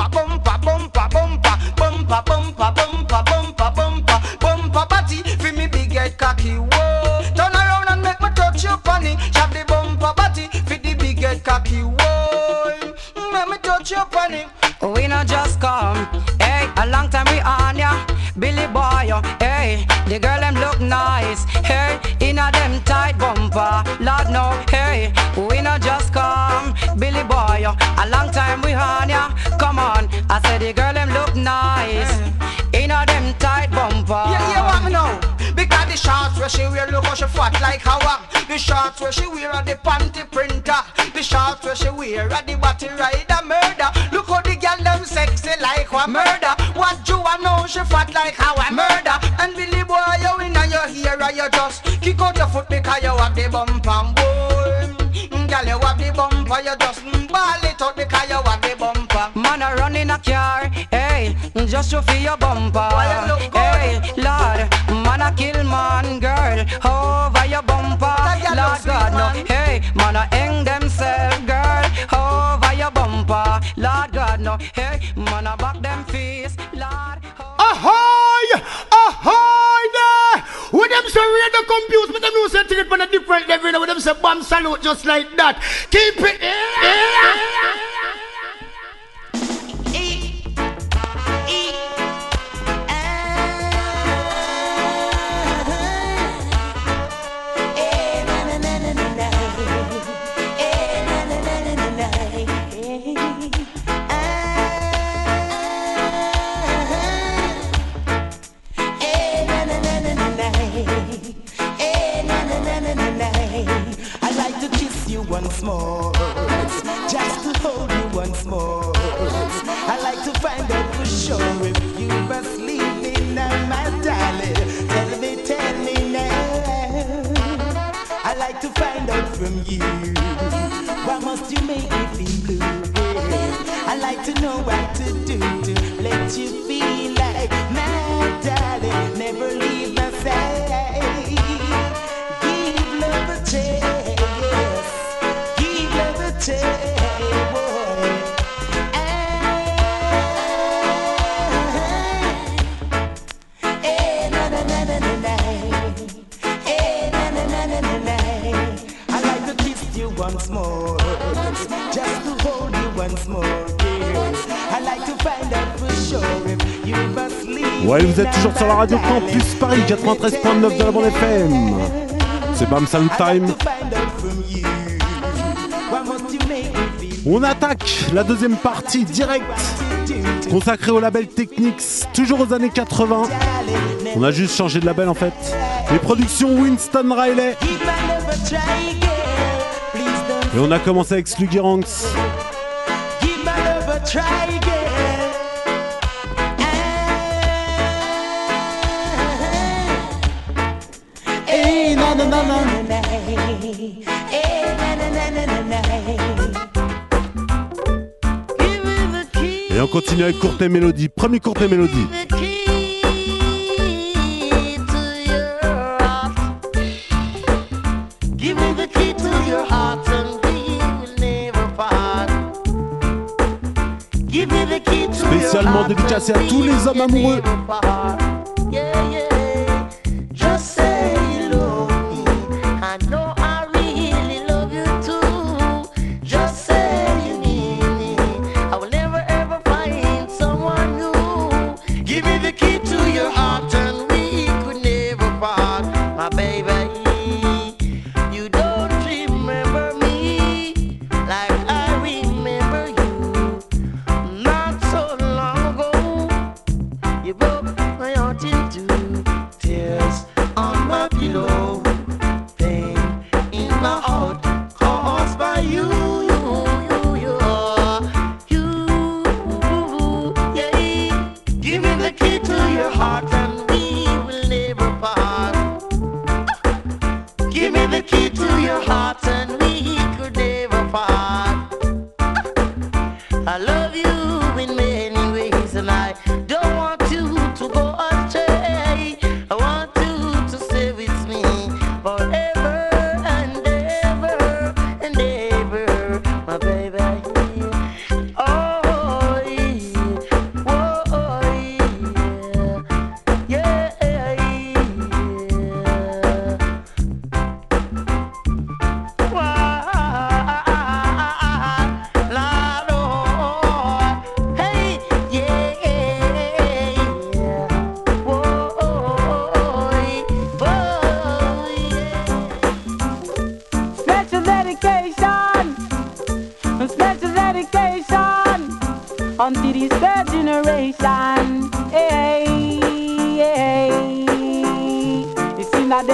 body for me big head cocky. Whoa, turn around and make me touch you funny. Shove the bumper body for the big head cocky. Whoa, make me touch you funny. We not just come, hey, a long time we on ya. Billy Boy, hey, the girl them look nice, hey, in a them tight bumper. Lord no, hey, we not just come, Billy Boy, a long time we on ya. Come on, I said the girl them look nice, in a them tight bumper. Yeah, want me know, because the shots where she wear, look how she fat like a wag. The shorts where she wear are the panty printer. The shorts where she wear are the body rider murder. Look how the girl them sexy like a murder. What you a know she fat like how a murder. And Billy boy you in and your hair and you just kick out your foot because you have the bump and boy. Girl you have the bumper, you just ball it out because you have the bumper. Man a run in a car, hey, just to feel your bumper. Hey, Lord, man a kill man, girl, over your bumper. Lord God, no, hey, man a hang themselves, girl, over your bumper. Lord God, no, hey, man a back them face, Lord. Ahoy! Ahoy there! When them say read the compute, but them know say take it from a different level. When them say bomb salute just like that. Keep it. Once more, just to hold you once more. I like to find out for sure if you were sleeping now, my darling. Tell me now. I like to find out from you. Why must you make me feel blue? I like to know what to do to let you feel like my darling. Never leave my side. Give love a chance. Once more, just to hold you once more, yes. I like to find out for sure if you must leave. Ouais, vous êtes toujours sur la radio Campus Paris 93.9 de la bande FM. C'est Bam Salut Time. On attaque la deuxième partie directe consacrée au label Technics, toujours aux années 80. On a juste changé de label en fait. Les productions Winston Riley. Et on a commencé avec Sluggy Ranks. Et on continue avec Courtney Melody. Premier Courtney Melody. Spécialement dédicacé à tous les hommes amoureux. unto this third generation. Hey, hey. It's in them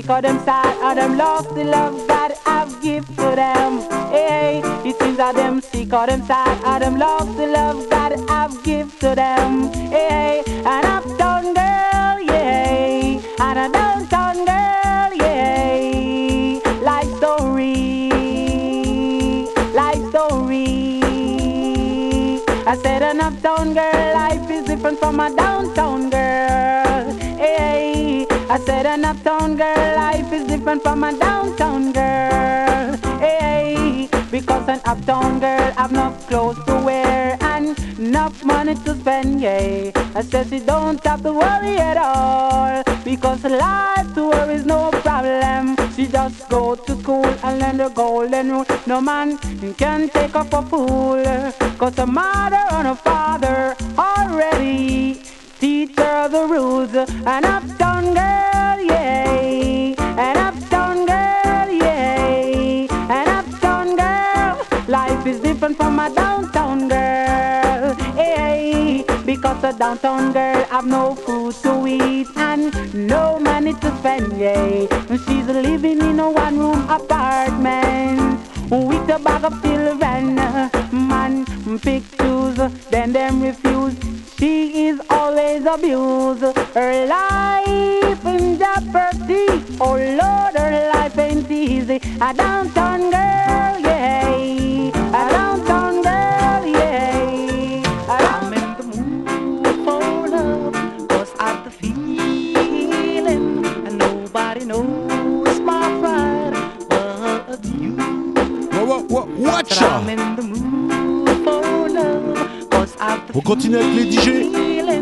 sick of them sad, of them lost the love that I've give to them. Hey, it seems that them sick of them sad, of them lost the love that I've give to them. Hey, an uptown girl, yeah, and a downtown girl, yeah. Life story, life story. I said an uptown girl life is different from a downtown girl. Hey, I said an uptown girl life is different from a downtown girl. Hey, because an uptown girl have enough clothes to wear and enough money to spend. Yeah, I said she don't have to worry at all because life to her is no problem. She just go to school and learn the golden rule. No man can take her for fool, cause her mother and her father already teach her the rules. An uptown girl, yeah, an uptown girl, yeah, an uptown girl. Life is different from a downtown girl, hey, because a downtown girl have no food to eat and no money to spend, yeah. She's living in a one-room apartment with a bag of children. Man pick choose, then them refuse. She is always abused. Her life in jeopardy. Oh Lord, her life ain't easy. A downtown girl, yeah. A downtown girl, yeah. I'm in the mood for love, cause I've the feeling, and nobody knows my pride but you. Watch out. I'm in the mood for love, cause I've the On continue avec les DJ.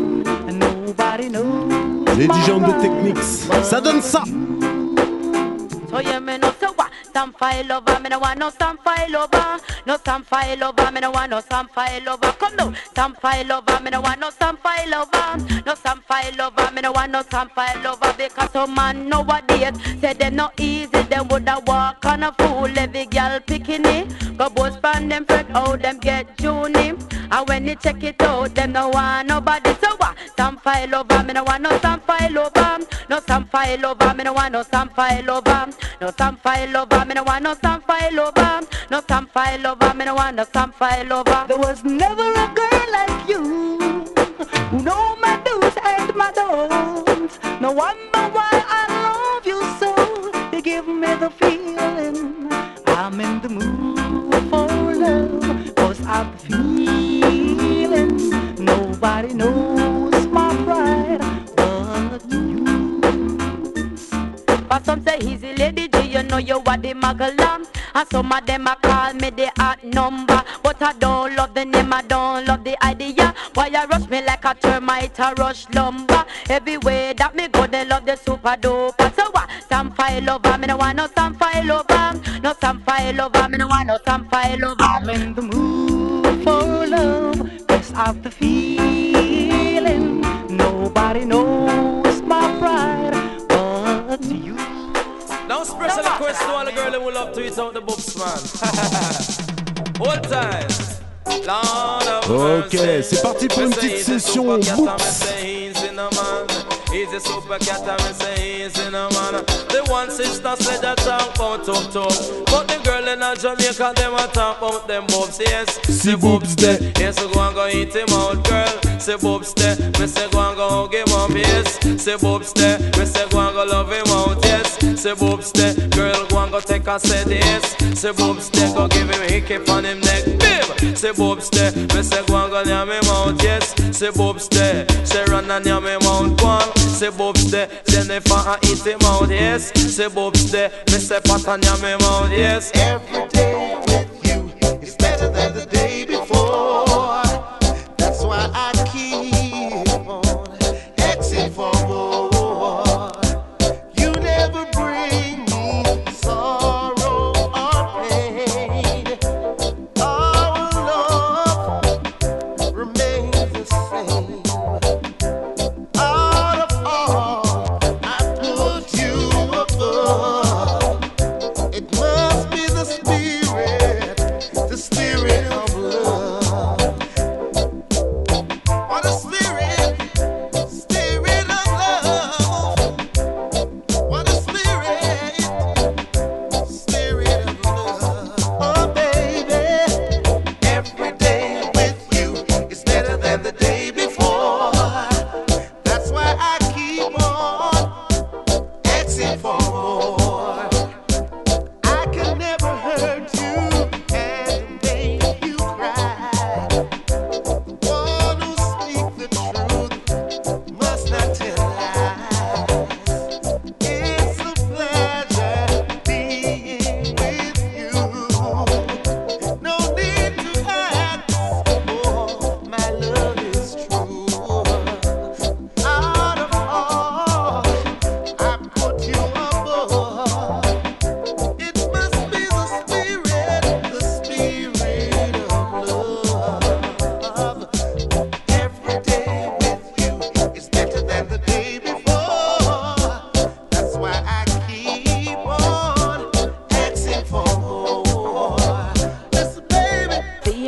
Les DJ en deux techniques. Ça donne ça. So yeah, me no so what? Some file over, me no want no some file over. No some file over, me no want no some file over. Come now, some file over, me no want no some file over. No some file over, me no want no some file over. Because some man nowadays say them no easy, them woulda walk on a fool. Every girl picking it, go both span them friend, how them get Junie. And when you check it out, them no want nobody. So what? Some file over, me no want no some file over. No some file over, me no want no some file over. No some file over, me no want no some file over. No some file over, me no want no some file over. There was never a girl like you who know my do's and my don'ts. No wonder why I love you so. You give me the feeling I'm in the mood for love, cause I'm feeling nobody knows my pride but you. But some say he's a lady, do you know you are the Magalam? And some of them a call me the hot number, but I don't love the name, I don't love the idea. Why you rush me like a termite, a rush lumber? Everywhere that me go, they love the super duper. So what? Some file over, me no want no some file over. No some file over, me no want no some file over. I'm in the mood for love, yes I've the feeling nobody knows my pride but you. Now special request to all the girls who love to eat out the books, man. Hold tight. Ok, c'est parti pour une petite session Boops. He's a super cat and say he's in a man. The one sister said that talk about talk. But the girl in a Jamaica, them a talk about them boobs, yes. See boobs there. Yes, go and go eat him out, girl. Say boobs there. Me say go and go hug him up, yes. Say boobs there. Me say go and go love him out, yes. Say boobs there. Girl go and go take a set, yes. Say boobs there. Go give him hickey on him neck, bim. Say boobs there. Me say go and go yam him out, yes. Say boobs there. Say run and yam him out, go on. Say boobs there, Jennifer and eat him out, yes. Say boobs there, me say pat and yam him out, yes. Every day with you is better than the day before. That's why I keep on asking for more. You never bring me sorrow or pain. Our love remains the same. It must be the spirit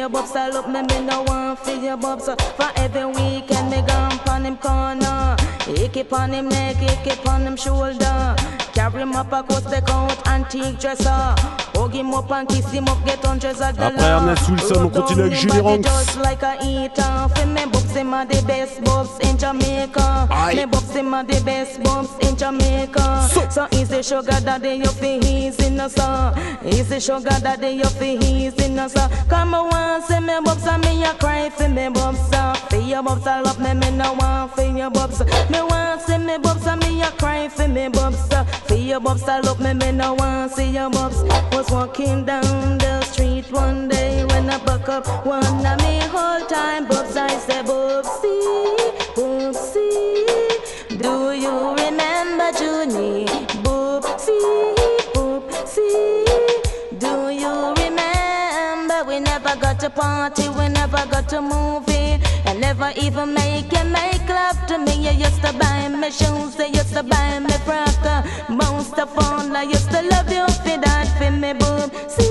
bubs, I look me no want for your bubs. For every weekend me gone pon him corner. He keep on him neck, he keep on him shoulder. Carry him up across the count, antique dresser. Hug him up and kiss him up, get hundreds of dollars. Après Ernest Wilson, on continue avec Julie Ranks. Just like a eater, for me bubs him are the best bubs in Jamaica. Me bubs him are the best bubs in Jamaica. So easy sugar daddy, you feel he's in us. Easy sugar daddy, you feel he's in us. Come on, say me bubs and me a cry for me bubs. For your bubs I love me no want for your bubs. Me want see me bubs and me a cry for me bubs. For your bubs I love me no want see your bubs. Was walking down the street one day when I buck up one of me whole time bubs. I say Bubsy, Bubsy, do you remember Junie? Bubsy, Bubsy, do you remember we never got to party, we never got to movie, and never even make love to me. You used to buy me shoes, you used to buy me frock. Most of all, I used to love you for that, for me Bubsy,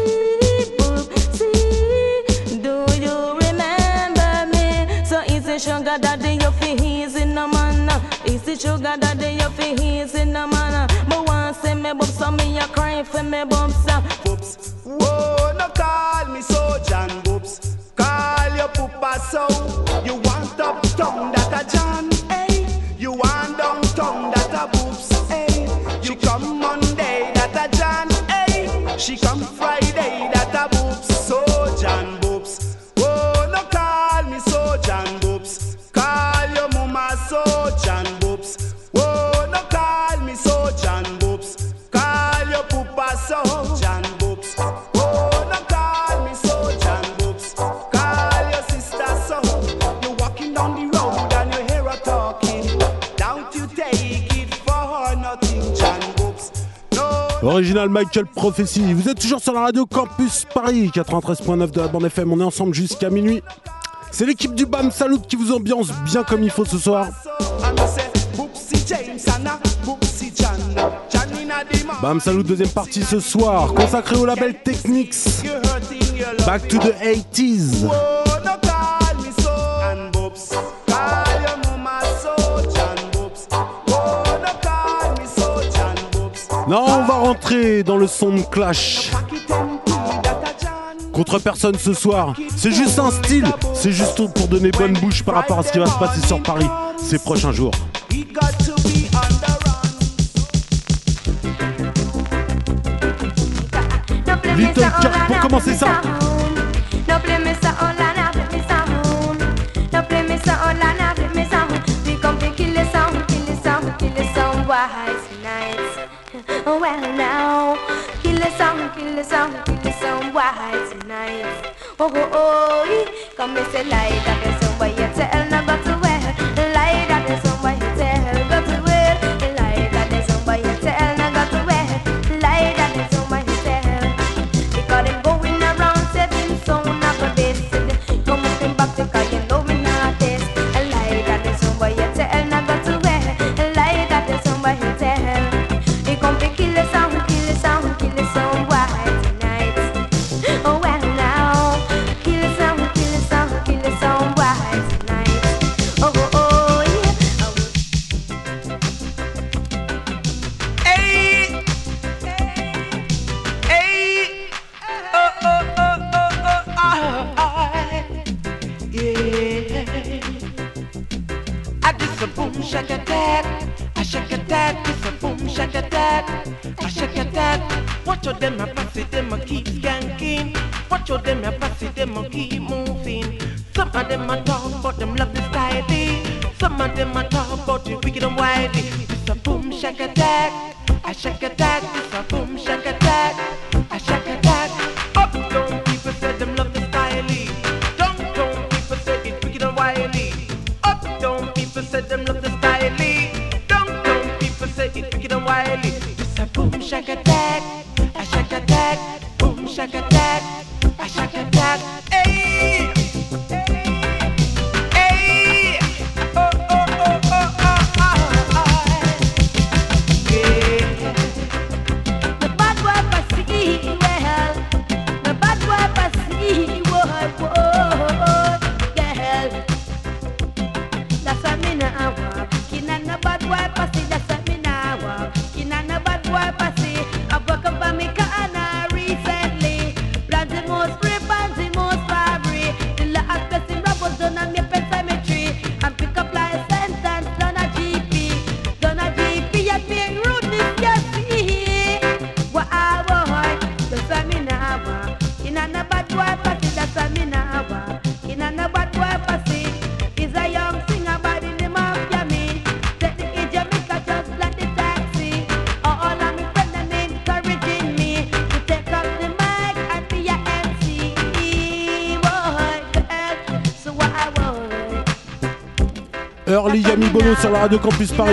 Bubsy, do you remember me? So easy sugar daddy, you feel easy no man. Easy sugar daddy, you feel easy no man. But once see me bubs, so me a cry for me bubs. Bubs, whoa, no call me so John Bubs. Call your papa so. You want up tongue that a John, hey. You want down tongue that a Bubs, hey. You come Monday that a John, hey. She come Friday that a Bubs, so John Bubs. Whoa, no call me so John Bubs. Call your mama so John Bubs. Whoa, no call me so John Bubs. Call your papa so John Bubs. Whoa, no call me so John Bubs. Call your sister so. You're walking down the road and you hear her talking. Don't you take it for nothing, John Bubs. Original Michael Prophecy. Vous êtes toujours sur la radio Campus Paris 93.9 de la bande FM. On est ensemble jusqu'à minuit. C'est l'équipe du BAM Salut qui vous ambiance bien comme il faut ce soir. BAM Salut deuxième partie ce soir, consacrée au label Technics. Back to the 80s. Non, on va rentrer dans le son de Clash. Contre personne ce soir, c'est juste un style, c'est juste pour donner bonne bouche par rapport à ce qui va se passer sur Paris ces prochains jours. Little Kirk pour commencer ça. Well now, kill the song, kill the song, kill the song, why tonight? Oh, oh, oh, come and say lie that there's somebody you tell, no got to wear. Lie that there's somebody you tell, got to wear. Lie that there's somebody you tell, no got to wear. Lie that there's somebody you tell. Because them going around setting sound of a bass. Come up back because you know me not this. Lie that there's somebody you tell, no got to wear. Lie that there's somebody you tell. Kill the sound, why tonight? Oh well now, kill the sound, why tonight? Oh oh oh yeah. Hey, hey, oh oh oh oh oh yeah. I did some boom shaka attack. I shake attack, it's a boom shake attack. I shake attack. Watch out them a pass it, them a keep skanking. Watch out them a pass it, them a keep moving. Some of them a talk but them love the styling. Some of them a talk about the wicked and wily. It's a boom shake attack. I shake attack, it's a boom shake attack. I shake attack. Up down people say them love the styling. Down people say it's wicked and wily. Up down people say them love the styling. Say it wicked and wily. It's a boom shack attack. A shack attack. Boom shack attack. A shack attack. Hey, hey. Oh oh oh oh oh oh. Yeah. The bad boy I see well. The bad boy I see well. In a no bad boy pussy, that's a me now walk. In a no bad boy pussy, is a young singer by the name of Yummy. Take the Jamaica just like the taxi. All of me friends them encouraging me to take up the mic and be a MC. Boy, girl, so what I want. Early Yami Bolo sur la radio Campus Paris.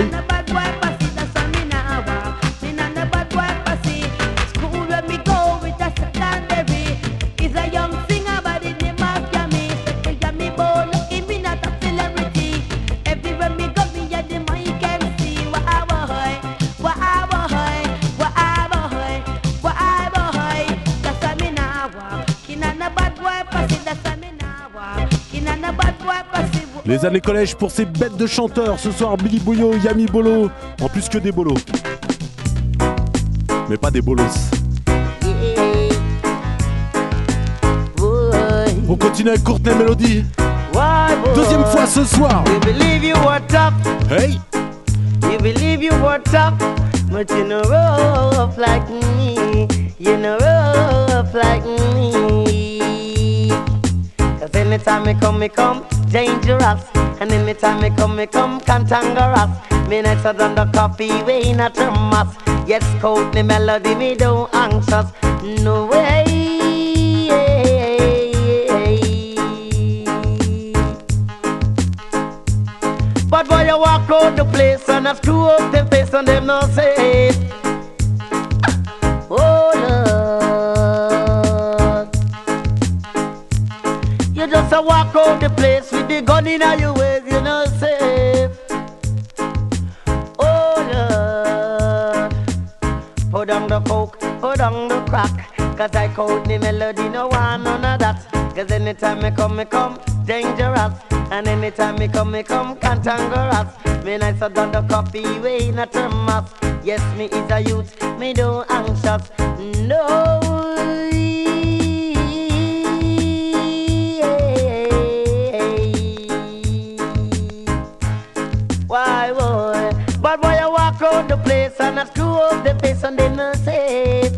Les années collège pour ces bêtes de chanteurs. Ce soir, Billy Boyo, Yami Bolo. En plus que des bolos. Mais pas des bolos. On continue avec Courtney Melody. Deuxième fois ce soir. You believe you were tough. Hey. You believe you were tough. But you know rough like me. You know rough like me. Cause anytime me come dangerous. And anytime me come cantankerous. Me nights are done the coffee way in a thermos. Yes, Courtney Melody, me don't anxious. No way. But boy, you walk out the place and I screw up the face and them no say. Oh Lord, you just a walk out the place with the gun in your waist, you know safe. Oh Lord, put on the coke, put on the crack. Cause I Courtney Melody, no one none of that. Cause anytime me come dangerous. And anytime me come cantankerous. Me nice a done the coffee way in a thermos. Yes, me is a youth, me don't anxious. No. Why boy? But boy, I walk out the place and I screw up the face and then I say,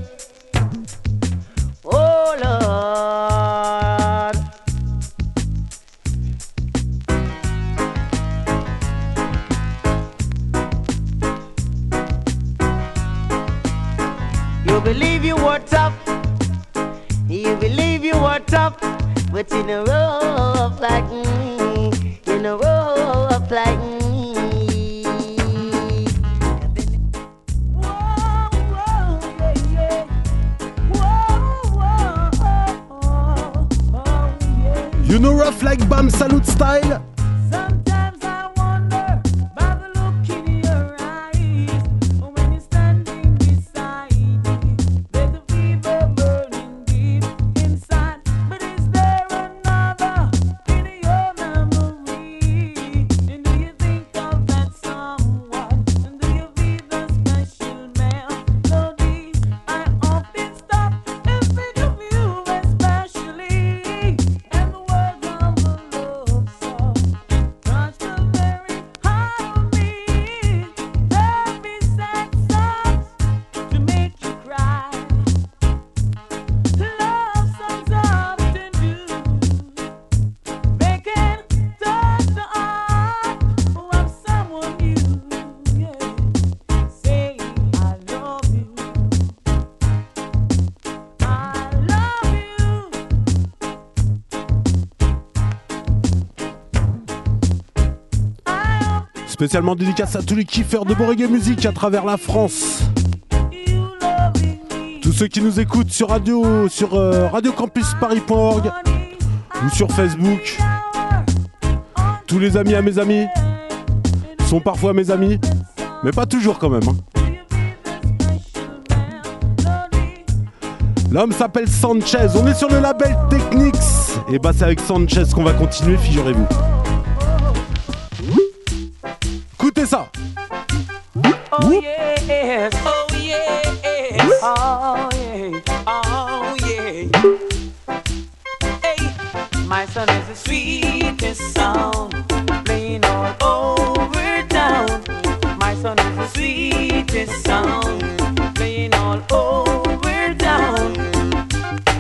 oh Lord. You believe you were tough. You believe you were tough. But you know rough like me. You know rough like me. You know rough like Bam Salute style. Sometimes I wonder by the look in your eyes. When you're standing beside me, there's a fever burning deep inside. But is there another in your memory? And do you think of that someone? And do you feel the special melody? I often stop and think of you especially. And the words of a love song touch the very heart of me. There'll be sad songs to make you cry. Love songs often do. They can touch the heart of someone new. Yeah. Saying I love you. I love you. Spécialement dédicace à tous les kiffeurs de reggae musique à travers la France. Tous ceux qui nous écoutent sur radiocampusparis.org ou sur Facebook. Tous les amis à mes amis sont parfois mes amis, mais pas toujours quand même. L'homme s'appelle Sanchez, on est sur le label Technics. Et bah c'est avec Sanchez qu'on va continuer, figurez-vous. Écoutez ça. Oh yes, oh yes, oh yeah, oh yeah. Hey, my son is the sweetest sound, playing all over town. My son is the sweetest sound, playing all over town.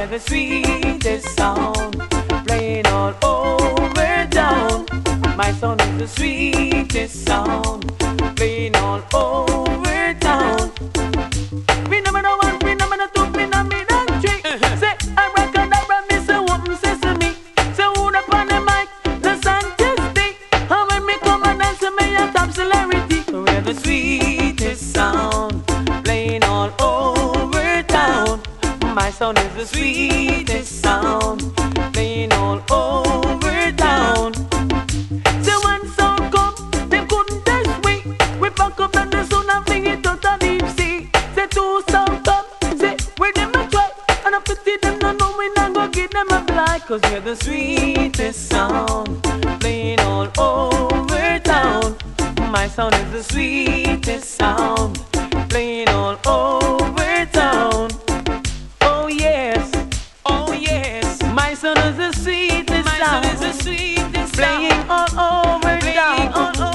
hear the sweetest sound playing all over town. My sound is the sweetest sound playing all over town. We number one, we number two, we number three. Say I reckon that me say open sesame. Say who up on the mic, the scientist. And when me come and dance, me a top celebrity. We hear the sweetest sound playing all over town. My sound is the sweetest sound playing all over town. Say one sound come, they couldn't test me. We back up and the sound and fling it out of deep sea. Say two sound come, say where them a try. And I pity them, no know we not go give them a blind. Cause we're the sweetest sound playing all over town. My sound is the sweetest sound playing all over town. Oh yes, my son is the sweetest sound, playing all over town,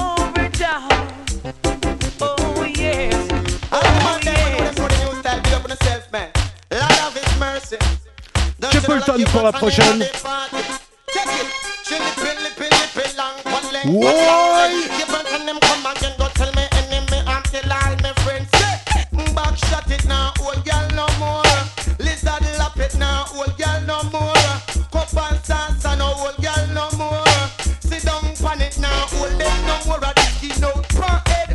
Oh yes, Chapleton pour la prochaine. Shut it now, old girl no more. Lizard lap it now, old girl no more. Cup and salsa now, old girl no more. Sit down pan it now, old them no more. A skin out pan head,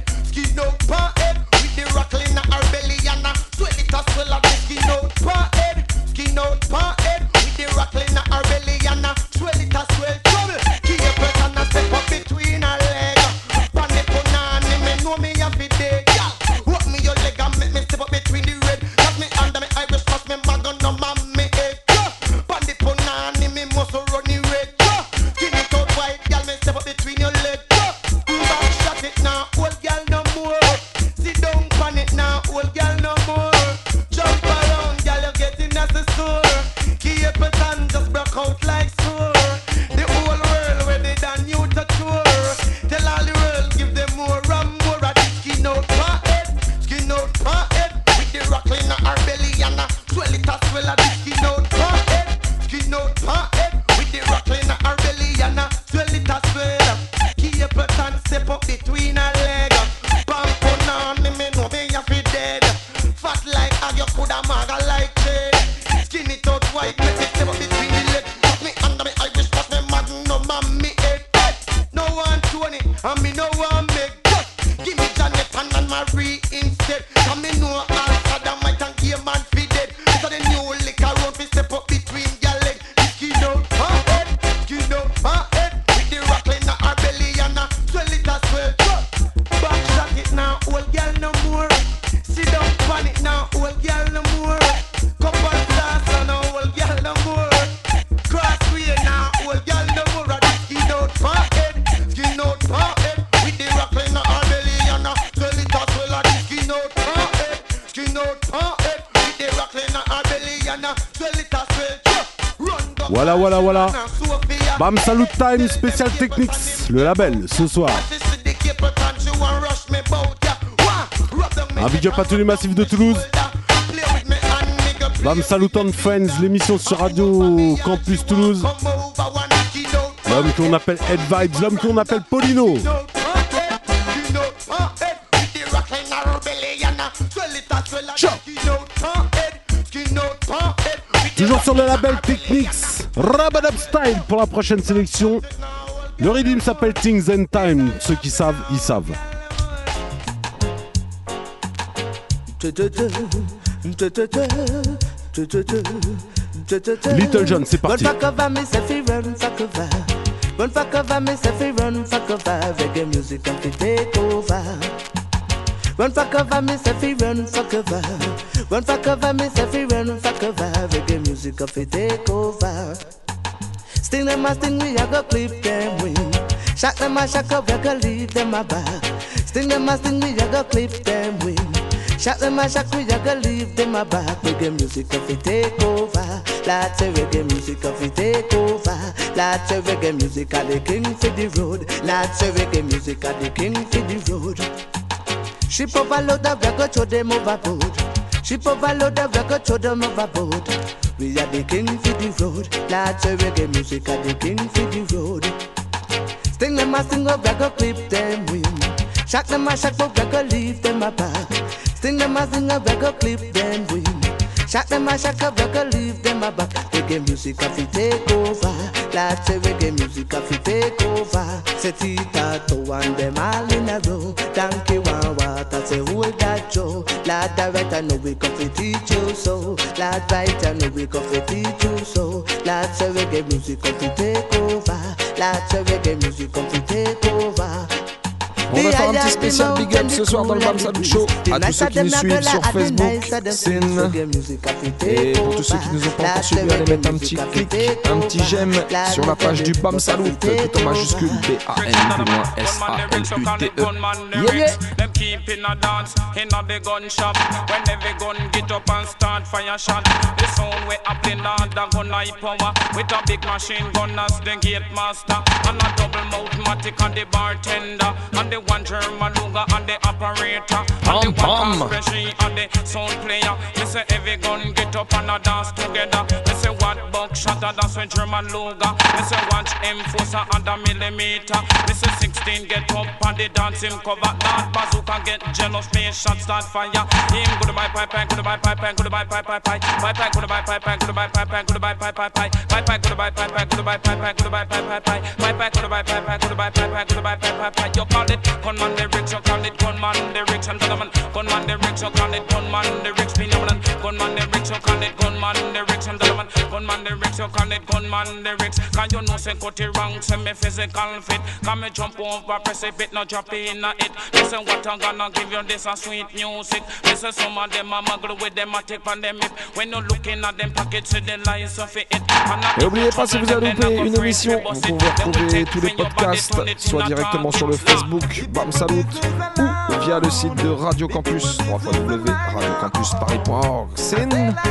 with the rockle in her belly and a swell it a swell a skin out pan head, with the rockle in her belly and a swell it a swell trouble. Keep your person a step up between her leg. Pan it punani, me know me a fit day. Walk me your leg and make me step up between the red. Got me under me Irish cross, me magon no man me head. Bandit punani, me muscle run the red. Skin it out white, girl, me step up between your leg. Back shot it now, old girl no more. Sit down pan it now, old girl no more. Jump around, girl, you're getting as a sore. Keep it on, just broke out like sore. The whole world where they done you to tour. Tell all the world, give them more and more. A skin out pan head, with the rockle in her belly and a swell it a swell a skin out pan head, with the rockle in her belly and a swell it a swell. Keep it and step up between her leg. Pump on me know me a fi dead. Fat like how you coulda maga like shade. Skin it out white, make it step up between the leg. Put me under me Irish, put me magnum on me head. No one Tony, and me no one make. Give me Jonathan and Marie instead. Cause me know all Saddam might and game and fi dead. This a the new liquor road fi step up between your leg. Skin out her head, with the rockle in her belly and a swell it a swell. Back shot it now, old girl no more. Sit down pan it now, old girl no more. Cup and salsa now, old girl no more. Crossway now, old girl no more. Skin out her head, with the rockle in her belly and a swell it a swell. Skin out her head, with the rockle in her belly and a swell it a swell. Voilà. Bam Salut Time, spécial Technics, le label, ce soir. Un big up à tous les massifs de Toulouse. Bam Salut and Friends, l'émission sur Radio Campus Toulouse. L'homme qu'on appelle Head Vibes, l'homme qu'on appelle Paulino. Toujours sur le label Technics, Rabadab Style pour la prochaine sélection. Le rythme s'appelle Things and Time. Ceux qui savent, ils savent. Little John, c'est parti. Run for cover, me say fi run for cover. Reggae music come to take over. Run for cover, me say fi run for cover. Run for cover, me say fi run for cover. Reggae music come to take over. Sting them a sting, we a go clip them wing. Shock them a shock up, we a go leave them a back. Sting them a sting, we a go clip them wing. Shock them a shock, we a go leave them a back. Reggae music come to take over. Lots of reggae music come to take over. Lots of reggae music are the king for the road. Lots of reggae music are the king for the road. Ship overload of reggae, throw them overboard. Ship overload of reggae, throw them overboard. We are the king for the road. Lots of reggae music are the king for the road. Sting them a sing up, reggae clip them win. Shock them a shock, but reggae leave them a back. Sting them a sing up, reggae clip them win. Shock them a shock, reggae leave them a back. Reggae music have to take over. Lots of reggae music have to take over. Say Tita to and them all in a row. Donkey one water, say hold that Joe. Lord right, I know we come to teach you so. Lord right, I know we come to teach you so. Lots of reggae music come to take over. Lots of reggae music come to take over. On va faire un petit spécial big up ce soir dans le Bam Salut Show à tous ceux qui nous suivent sur Facebook, Sin. Et pour tous ceux qui nous ont pas encore suivis, allez mettre un petit clic, un petit j'aime sur la page du Bam Salut, tout en majuscule BAM-SALUTE. Yeah, yeah. Them keep in a dance, in a the gun shop. When every gun get up and start fire shot. The sound we up in the gun high power. With a big machine gun as the gate master. And a double mouth-matic and the bartender. And the one German Luger and the operator. And the one Caspeshi and the sound player. Me say every gun get up and a dance together. Me say what buckshot a dance with German Luger. Me say watch M4 and a millimeter. Me say 16 get up and the dance him cover. That bazooka get jealous, face shot start fire. Him go to my pipe, go to my pipe, go to my pipe, pipe, go to my pipe, go to my pipe, go to my pipe, go to my pipe, go to my pipe, go to my pipe, go to my pipe, go to my pipe, go to my pipe, go to my pipe. You call it gunman lyrics, you call it gunman lyrics, and gentlemen, gunman lyrics, you call it gunman lyrics, phenomenon. Gunman lyrics, you call it gunman lyrics, and gentlemen, gunman lyrics, you call it gunman lyrics. Can you know say cut it wrong, say me physical fit. Can me jump over, press a bit, not drop in it. Listen what I'm gonna give you, this a sweet music. Listen some of them a muggle with them a take on them hip. When you looking at them pockets, see the lies of it. Et n'oubliez pas, si vous avez loupé une émission, vous pouvez retrouver tous les podcasts, soit directement sur le Facebook Bam Salut ou via le site de Radio Campus, www.radiocampusparis.org. Sin.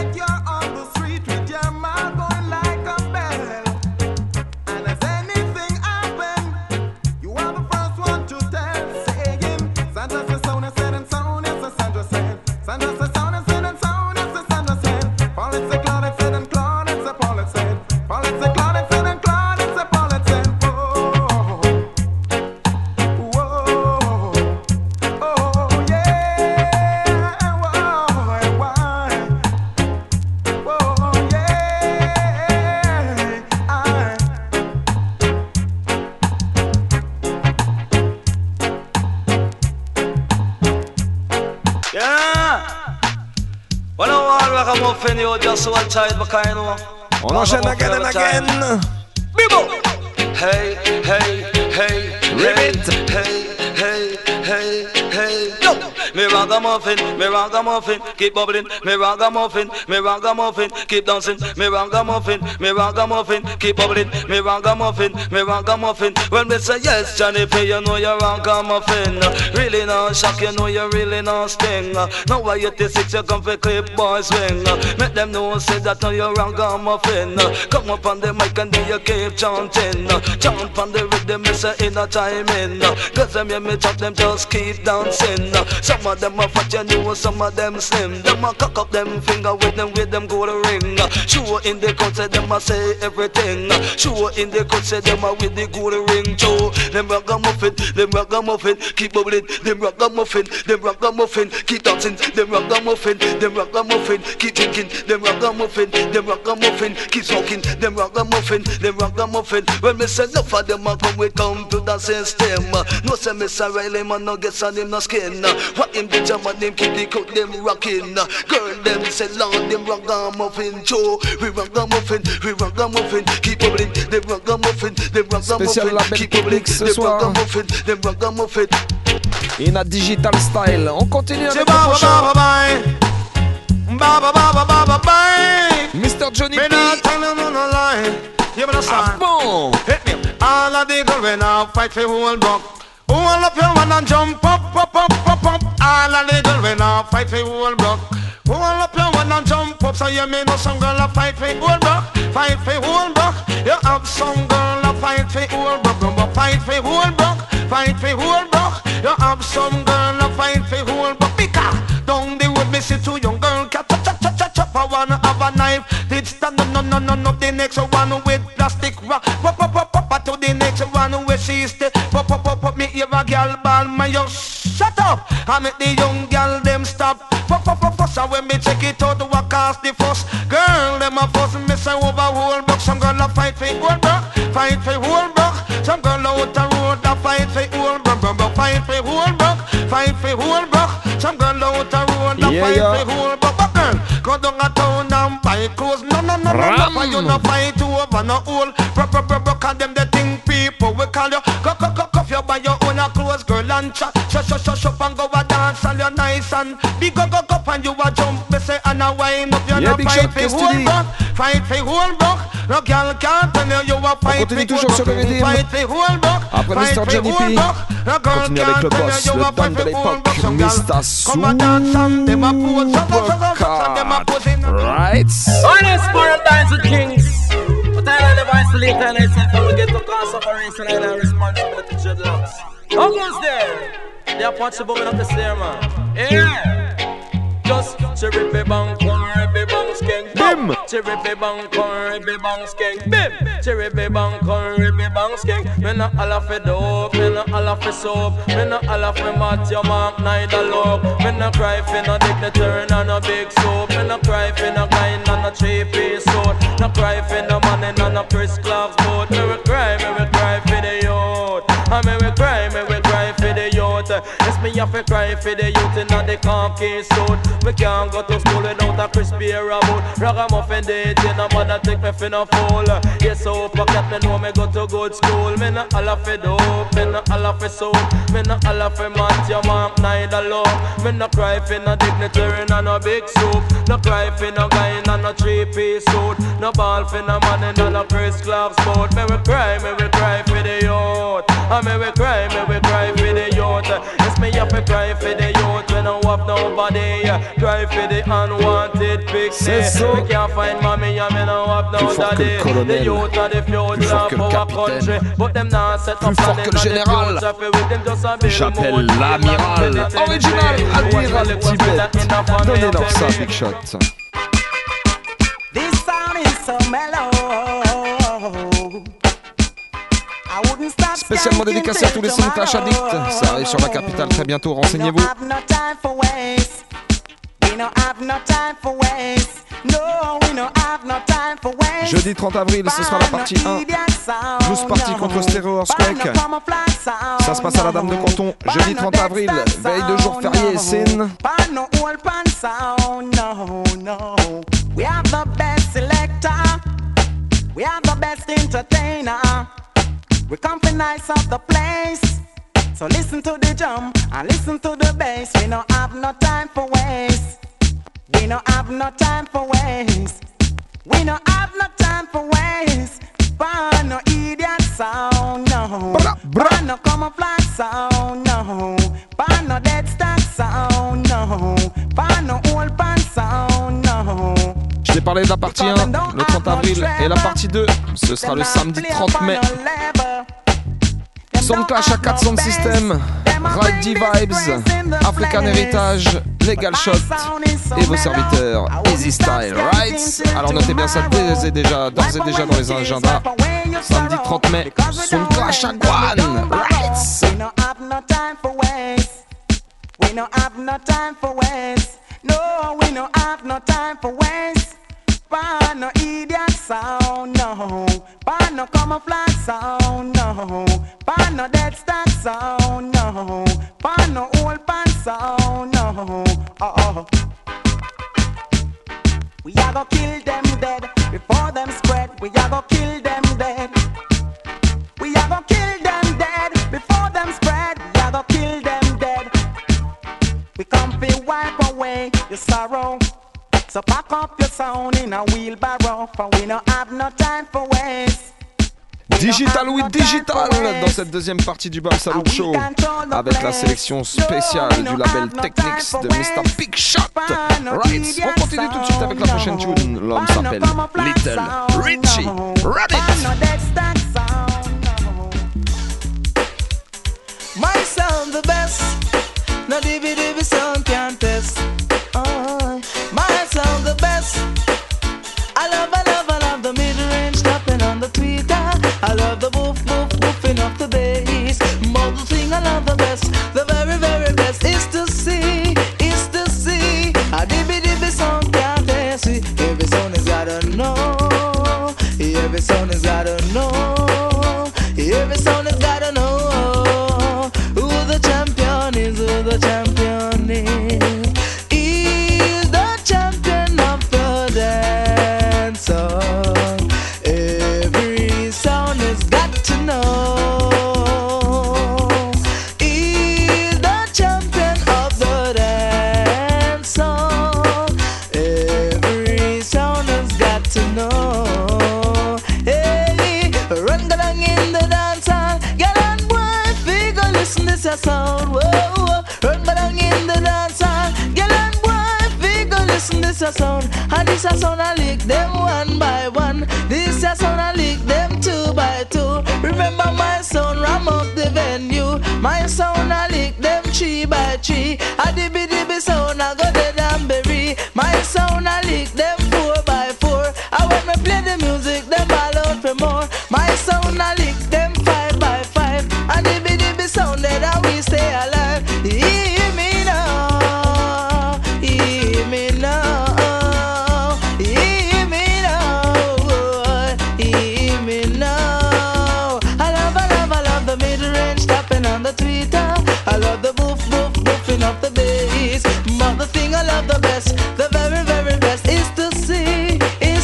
On enchaîne again and again. Bibo. Hey, hey, hey, Ribbit. Hey, hey, hey, hey. Yo, me ragamuffin, keep bubbling. Me ragamuffin, keep dancing. Me ragamuffin, keep bubbling. Me ragamuffin. When me say yes, Johnny P, you know you're ragamuffin. Really not shock, you know you really not sting. Now why 86 you come for clip boy swing. Make them know say that now you're ragamuffin. Come up on the mic and then you keep chanting. Jump on the rhythm, me say in a time in. Cause them hear me chop, them just keep dancing. Some of them are fat, you know, some of them slim. Them a cock up them finger with them go to ring. Sure in the cut say them a say everything. Sure in the cut say them a with the go to ring too. Them ragamuffin, keep bubbling. Them ragamuffin, keep dancing. Them ragamuffin, keep drinking. Them ragamuffin, keep smoking. Them ragamuffin. When me say enough of them a come, we come to the system. No say Mr. Riley man no get on him no skin. What him the jam and them keep the coat them rocking. Girl them say Lord them ragamuffin Joe. We ragamuffin, keep bubbling. Them ragamuffin, keep bubbling. Them ragamuffin. In a digital style. On continue avec le Mr. Johnny P. Ah bon? All of the girls when I fight for whole block. All up your one and jump up. All of the girls when I fight for whole block. All up your one and jump up. So you may know some girl a fight for whole block. Fight for whole block. You have some girl a fight for whole block. Fight for whole block. You have some girl a fight for whole block. Because down the road me see two young girl chop. I wanna have a knife. It's no. The next one with plastic rock. Pop to the next one where she stay. Pop me ever girl ball my yo. Shut up! I make the young girl them stop. So when me check it out, what cause the fuss? Girl, them a fuss me say over whole block. Some girl a fight for whole block, fight for whole block. Some girl out the road a fight for whole block, fight for whole block, fight for whole block. Some girl out the road a fight for whole block. But girl, go down a town and buy clothes. No. For you no fight over no hole. Call them the thing people we call you. Go you buy your own clothes, girl and chat. Shut and go a dance and you're nice and big go and you a jump. Me say and a wind up. You no fight for whole block, fight for whole block. No girl can't tell you a fight for whole block. Après Mr. Johnny P, continue avec le boss, le Don de l'époque, Mr. Right? Honest Paradise with Kings. But I never isolate and I said when we get to cause separation and our responsibility dreadlocks. How goes there? They are punching women up the stair, man. Yeah. Just cherry bang, cherry bang, skank, bim. Cherry bang, cherry bang, skank, bim. Cherry bang, cherry bang, skank. Me no all for dope, me no all for soap, me no all for mat your mark, neither love. Me no cry for no dignitary, no big soap. Me no cry for no guy, no 3-piece suit. No cry for no money, no Chris Clark's boat. Me we cry for the youth. And me we cry for the youth. Yes, me have to cry for the youth in the khaki suit. Me can't go to school without a crispy boot. Ragamuffin dating, no mother take me for no fool. Yes, so pocket me know me go to good school. Me no all for dope, me no all for soap. Me no all for mat your mark, neither love. Me no cry for no dignitary, no big soup. No cry for no guy, no 3-piece suit. No ball for no money, no Chris Clark's boat. Me we cry for the youth. And me we cry for the youth. Yes, me have to cry for the youth when I have nobody. Cry for the unwanted pixie. We can't find mommy and me no have no daddy. The youth are the future of our country. But them not set up plus fort que le général. J'appelle l'amiral. Original Admiral Tibet. Donnez-leur ça, Big Shot. This sound is so mellow. Spécialement dédicacé à tous les Soundclash addicts. Ça arrive sur la capitale très bientôt, renseignez-vous. Jeudi 30 avril, ce sera la partie 1. 12 parties contre Stereo Earthquake. Ça se passe à la Dame de Canton. Jeudi 30 avril, veille de jour férié, Sin. We have the best selector. We have the best entertainer. We come for nice of the place. So listen to the drum and listen to the bass. We don't have no time for waste. We don't have no time for waste. We don't have no time for waste. Burn no idiot sound, no. Burn no camouflage sound, no. Burn no dead stock sound, no. Burn no old pan sound, no. Je t'ai parlé de la partie 1, le 30 avril, et la partie 2, ce sera le samedi 30 mai. Soundclash à 4 sound system, Ride D Vibes, African Heritage, Legal Shot et vos serviteurs Easy Style Rights. Alors notez bien ça d'ores et déjà dans les agendas. Samedi 30 mai, Soundclash à Guan Rights. We don't have no time for waste. We don't have no time for waste. No, we don't have no time for waste. Pan no idiot sound, no. Pan no camouflage sound, no. Pan no dead stock sound, no. Pan no old pan sound, no. We a go kill them dead before them spread. We a go kill them dead. We a go kill them dead before them spread. We a go kill them dead. We come to wipe away your sorrow. So pack up your sound in a wheelbarrow, for we don't have no time for waste. Digital with Digital dans cette deuxième partie du Bam Salut Show avec la sélection spéciale du label Technics de Mr. Big Shot. Right, on continue tout de suite avec la prochaine tune. L'homme s'appelle Little Richie. Run it! My sound the best, no DVD sound can test. My sound the best. I love the sound has gotta know who the champion is, who the champion is. He's the champion of the dance song. Every sound has got to know. He's the champion of the dance song. Every sound has got to know. Hey, run along in the dance hall. Get on, boy, figure, listen this a sound. Whoa, run along in the dance hall. Get on, boy, figure, listen this a sound. And this a sound I lick them one by one. This a sound I lick them two by two. Remember my sound ram up the venue. My sound I lick them three by three. A dibby dibby sound I go dead and bury. My sound I lick them four by four. I when me play the music them all out for more. My sound I lick them five by five. A dibby dibby sound that we stay alive. Hear me now, hear me now, hear me now, hear me now. I love the mid-range tapping on the tweeter. I love the boofing up the bass. But the thing I love the best, the very, very best, is to see.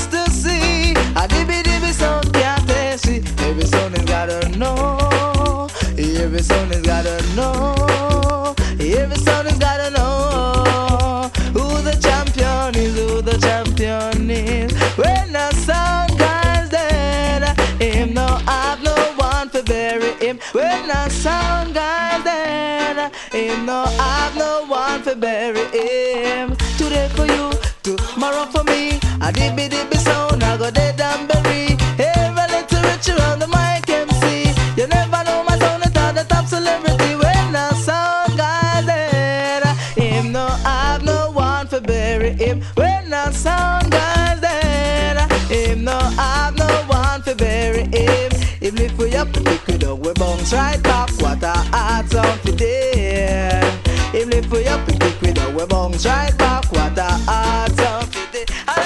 A dibby dibby sound can't taste it. Every sound has gotta know. Every sound has gotta know. Every sound has gotta know who the champion is, who the champion is. When the sound guy's dead, him no have no one to bury him. When the sound guy's dead, him no have no one to bury him. Today for you, tomorrow for me. A dibby dibby sound, I go dead and bury. Every little rich around the mic MC. You never know my sound is the top celebrity. When the sound guy's dead, him no have no one to bury him. When the sound guy's dead, him no have no one to bury him. Him lift we up, pick it up, we bounce right back. What a hard sound today. Him lift we up, pick it up, we bounce right back. What a hard sound today.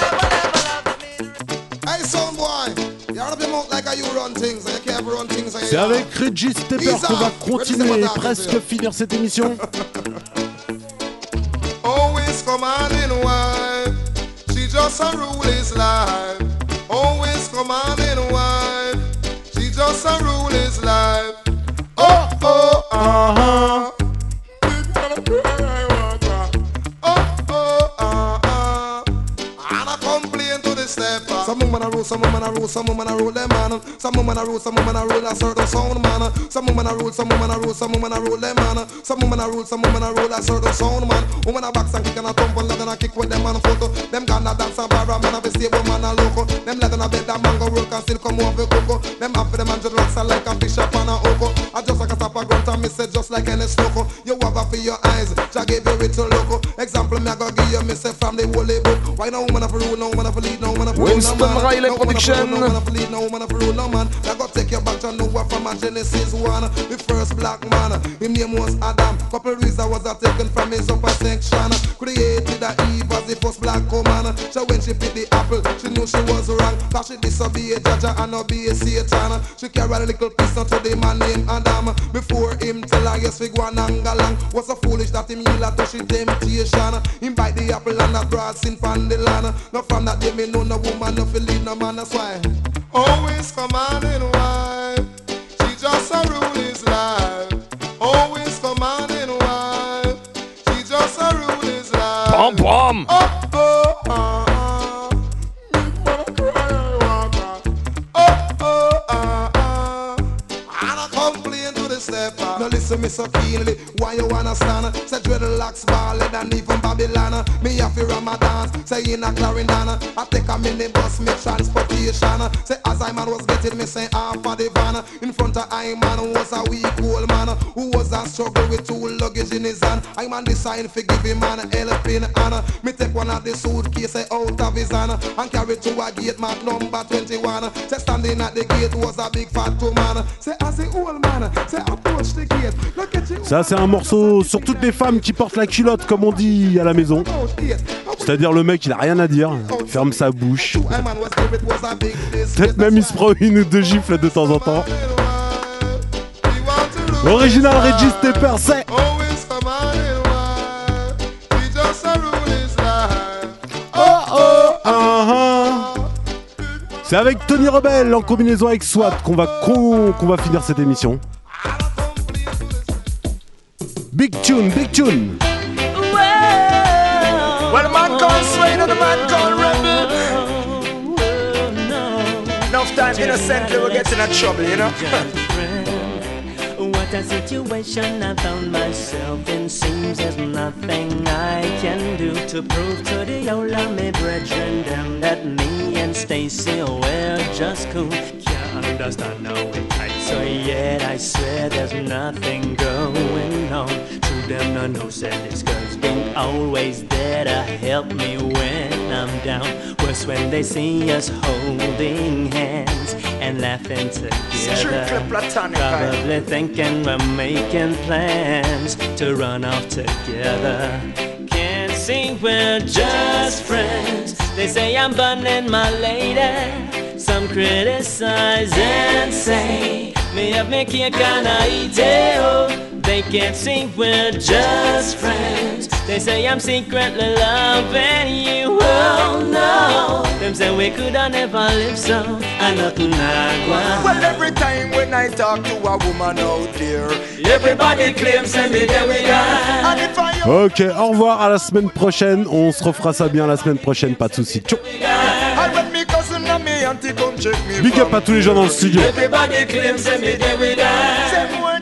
Hey, son boy, you run up your mouth like you run things, and you can't run things. C'est avec Reggie Stepper qu'on va continuer et presque finir cette émission. Always commanding wife, she just a rule his life. Always commanding wife, she just a rule his life. Oh, oh, uh-huh. And I complain to the stepper. Some woman a rule, some woman a rule, some woman a rule them man. Some woman a rule, some woman a rule a certain sound man. Some woman a rule, some woman a rule, some woman a rule them man. Some woman a rule, some woman a rule a certain sound man. Woman a box and kick and a thump and let them a kick with them man photo. Them gonna dance and barra man a be stable man a loco. Them let them a bed that mango roll can still come over cocoa. Them after them and just rocks like a fish up on a oko. I just like a tap a grunt and me say just like any sloko. You have a for your eyes, Jah gave you it to loco. Example me a go give you me say from the holy book. Why no woman a for rule, no woman a for lead, no woman a for rule, no man. Riley Production. No woman a for lead, no woman a for rule, no man. I go take you back to know what from a Genesis 1. The first black man, his name was Adam. Couple reasons was taken from his upper section. Created a Eve as the first black woman. So when she picked the apple, she knew she was wrong. Cause she disobeyed Jaja and obeyed Satan. She carried a little piece to the man named Adam. Before him tell her yes we go and angalang. Was so foolish that him heal her to she temptation. Him bite the apple and a broad sin from the land. Not from that day me know no woman no feel lead no man, that's why. Always commanding wife, she just a rule his life. Always commanding wife, she just a rule his life. Bom bom. Oh, oh, and I complain to the stepper. Now listen me so keenly, why you wanna stand? Say dreadlocks ballad and even Babylon. Me have to Ramadan, say in a Clarendon. I take a minibus, me transportation. Say as I man was getting me say half of the van. In front of I man was a weak old man who was a struggle with two luggage in his hand. I man decide for give him man helping hand. Me take one of the suitcase out of his hand and carry to a gate mark number 21. Say standing at the gate was a big fat man. Say as the old man, say approach the gate. Look at you. Ça c'est un morceau sur toutes les femmes qui portent la culotte comme on dit à la maison. C'est-à-dire le mec il a rien à dire, il ferme sa bouche. Peut-être même il se prend une ou deux gifles de temps en temps. Original Regis Stepper, c'est. C'est avec Tony Rebel en combinaison avec SWAT qu'on va finir cette émission. Big tune, big tune. Well, man called Swain and the man called Rebel. Enough time innocently we'll get in a trouble, you know. What a situation I found myself in. Seems there's nothing I can do to prove to the old me brethren them that me and Stacy we're just cool. Can't understand now it tight, so yet I swear there's nothing going on. To them no no said this girl's been always there to help me when I'm down. Worse when they see us holding hands and laughing together. Probably thinking we're making plans to run off together. Can't see we're just friends. They say I'm burning my lady. Some criticize and say me have me cake and I eat it. Oh, they can't see we're just friends. They say I'm secretly loving you. Oh no, them say we coulda never live so. I know tonight. Well, every time when I talk to a woman out there, everybody claims and me there we are. And if I Ok, au revoir, à la semaine prochaine. On se refera ça bien la semaine prochaine, pas de soucis. Ciao. me auntie come check me. Big up à tous les gens dans le studio. Everybody claims and me there we die.